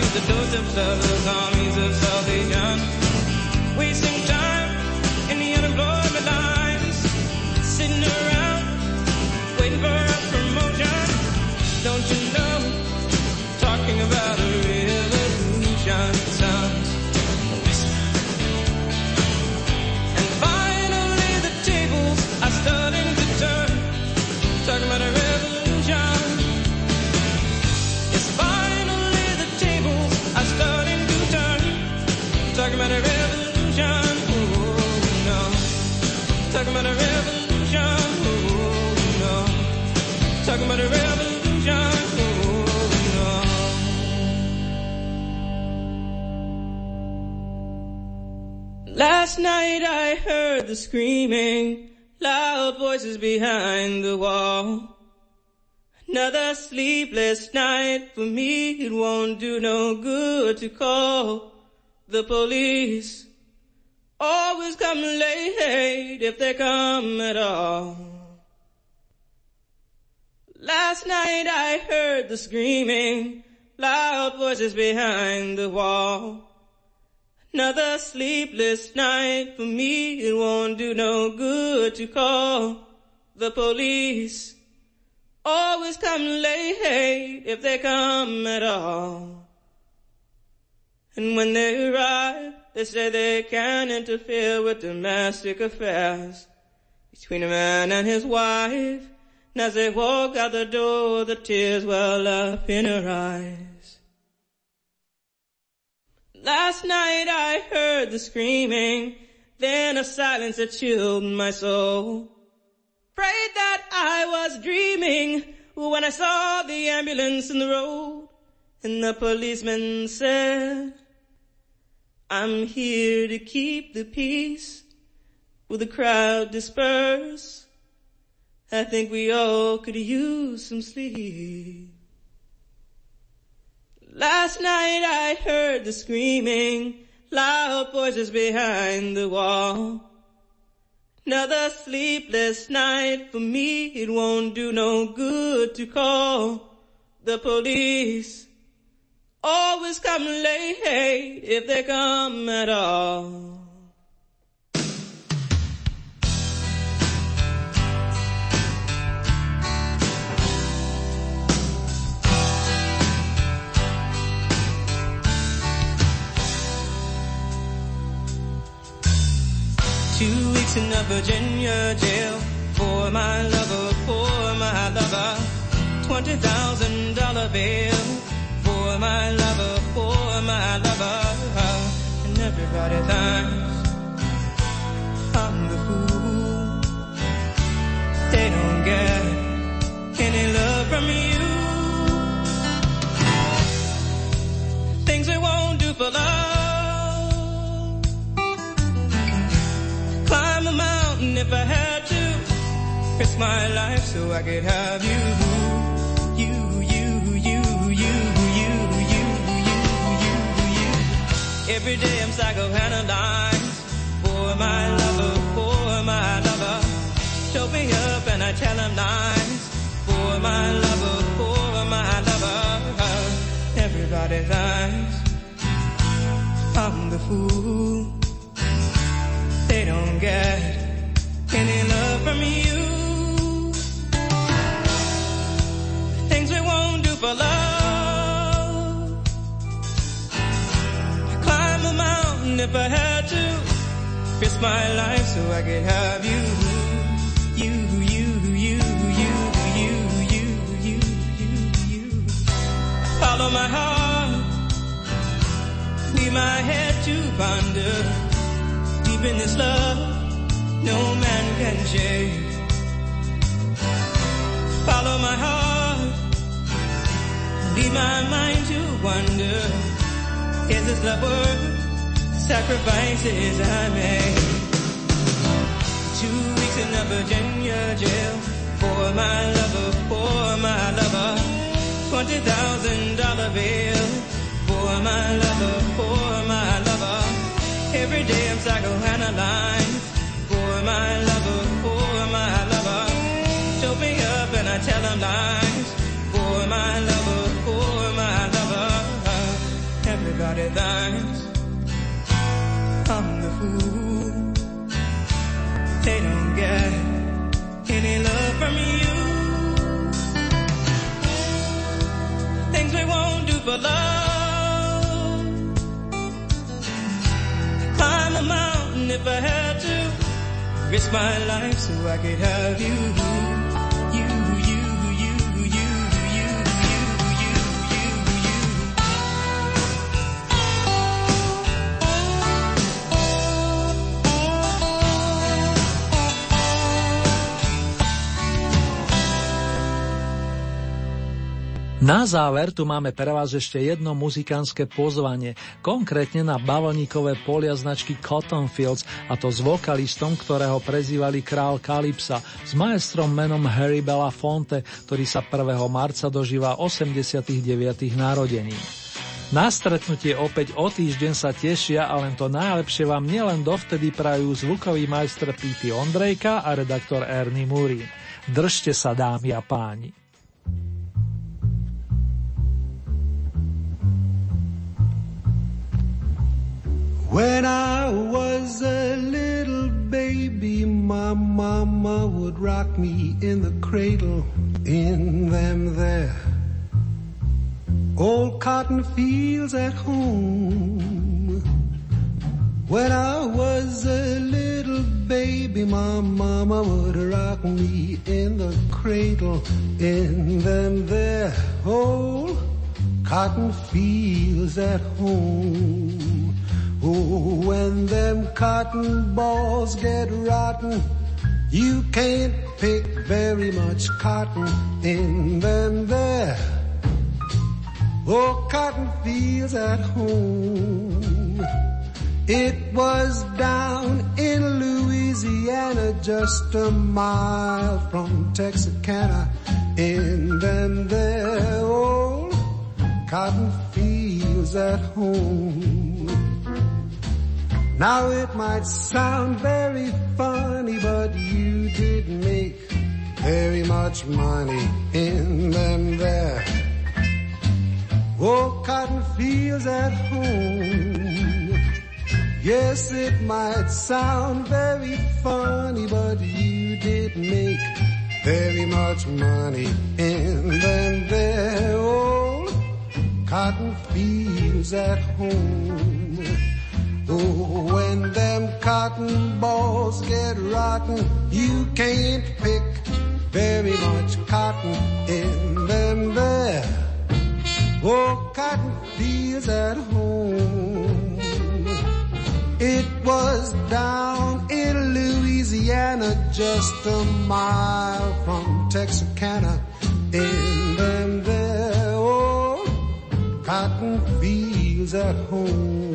at the doorsteps of those armies of salvation, wasting time in the unemployment lines, sitting around waiting for a promotion. Don't you know, talking about a revolution sounds. And finally the tables are starting to turn, talking about a revolution. Yes, finally the tables are starting to turn, talking about a revolution. Oh no, talking about a revolution. Oh no, talking about a revolution. Last night I heard the screaming, loud voices behind the wall. Another sleepless night for me, it won't do no good to call the police. Always come late if they come at all. Last night I heard the screaming, loud voices behind the wall. Another sleepless night for me, it won't do no good to call the police. Always come late if they come at all. And when they arrive, they say they can't interfere with domestic affairs between a man and his wife. And as they walk out the door, the tears well up in her eyes. Last night I heard the screaming, then a silence that chilled my soul. Prayed that I was dreaming when I saw the ambulance in the road. And the policeman said, I'm here to keep the peace. Will the crowd disperse? I think we all could use some sleep. Last night I heard the screaming, loud voices behind the wall. Another sleepless night for me, it won't do no good to call the police. Always come late if they come at all. 2 weeks in a Virginia jail for my lover, $20,000 bail for my lover, and everybody thinks I'm the fool. They don't get any love from you. Things we won't do for love. Climb a mountain if I had to. Risk my life so I could have you. Every day I'm psychoanalyzed for my lover. Choke me up and I tell him lies for my lover. Everybody thinks I'm the fool. They don't get any love from you. Things we won't do for love. I'd climb a mountain if I had to. Risk my life so I could have you. Follow my heart. Leave my head to ponder. Deep in this love, no man can shake. Follow my heart. Leave my mind to wonder. Is this love worth the sacrifices I made? 2 weeks in a Virginia jail for my lover. $20,000 bail for my lover. Every day I'm psychoanalyzed for my lover. Choke me up and I tell him lies for my lover. pretty thighs. I'm the fool. They don't get any love from you. Things we won't do for love. Climb a mountain if I had to. Risk my life so I could have you. Na záver tu máme pre vás ešte jedno muzikánske pozvanie, konkrétne na bavlníkové polia značky Cotton Fields, a to s vokalistom, ktorého prezývali král Kalypsa, s maestrom menom Harry Belafonte, ktorý sa 1. marca dožíva 89. narodení. Na stretnutie opäť o týždeň sa tešia a len to najlepšie vám nielen dovtedy prajú zvukový majster Pete Ondrejka a redaktor Ernie Murín. Držte sa, dámy a páni. When I was a little baby, my mama would rock me in the cradle in them there old cotton fields at home. When I was a little baby, my mama would rock me in the cradle in them there old cotton fields at home. Oh, when them cotton balls get rotten, you can't pick very much cotton in them there. Oh, cotton fields at home. It was down in Louisiana, just a mile from Texarkana, in them there old cotton fields at home. Now it might sound very funny, but you did make very much money in them there old cotton fields at home. Yes, it might sound very funny, but you did make very much money in them there old cotton fields at home. Oh, when them cotton balls get rotten, you can't pick very much cotton in them there oh, cotton fields at home. It was down in Louisiana, just a mile from Texarkana, in them there old cotton fields at home.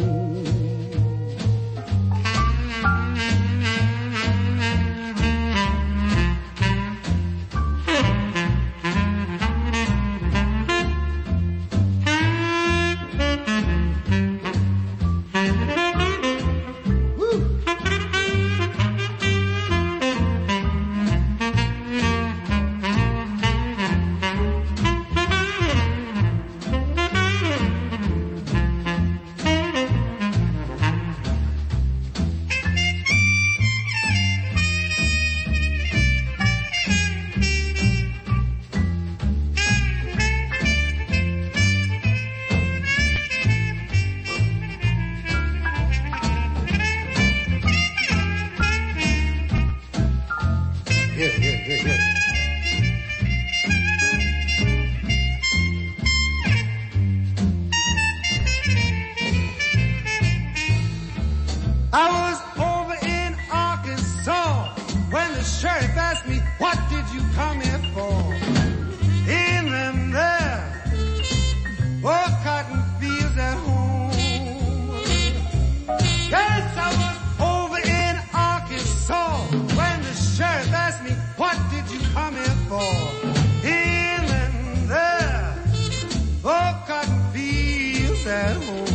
At home.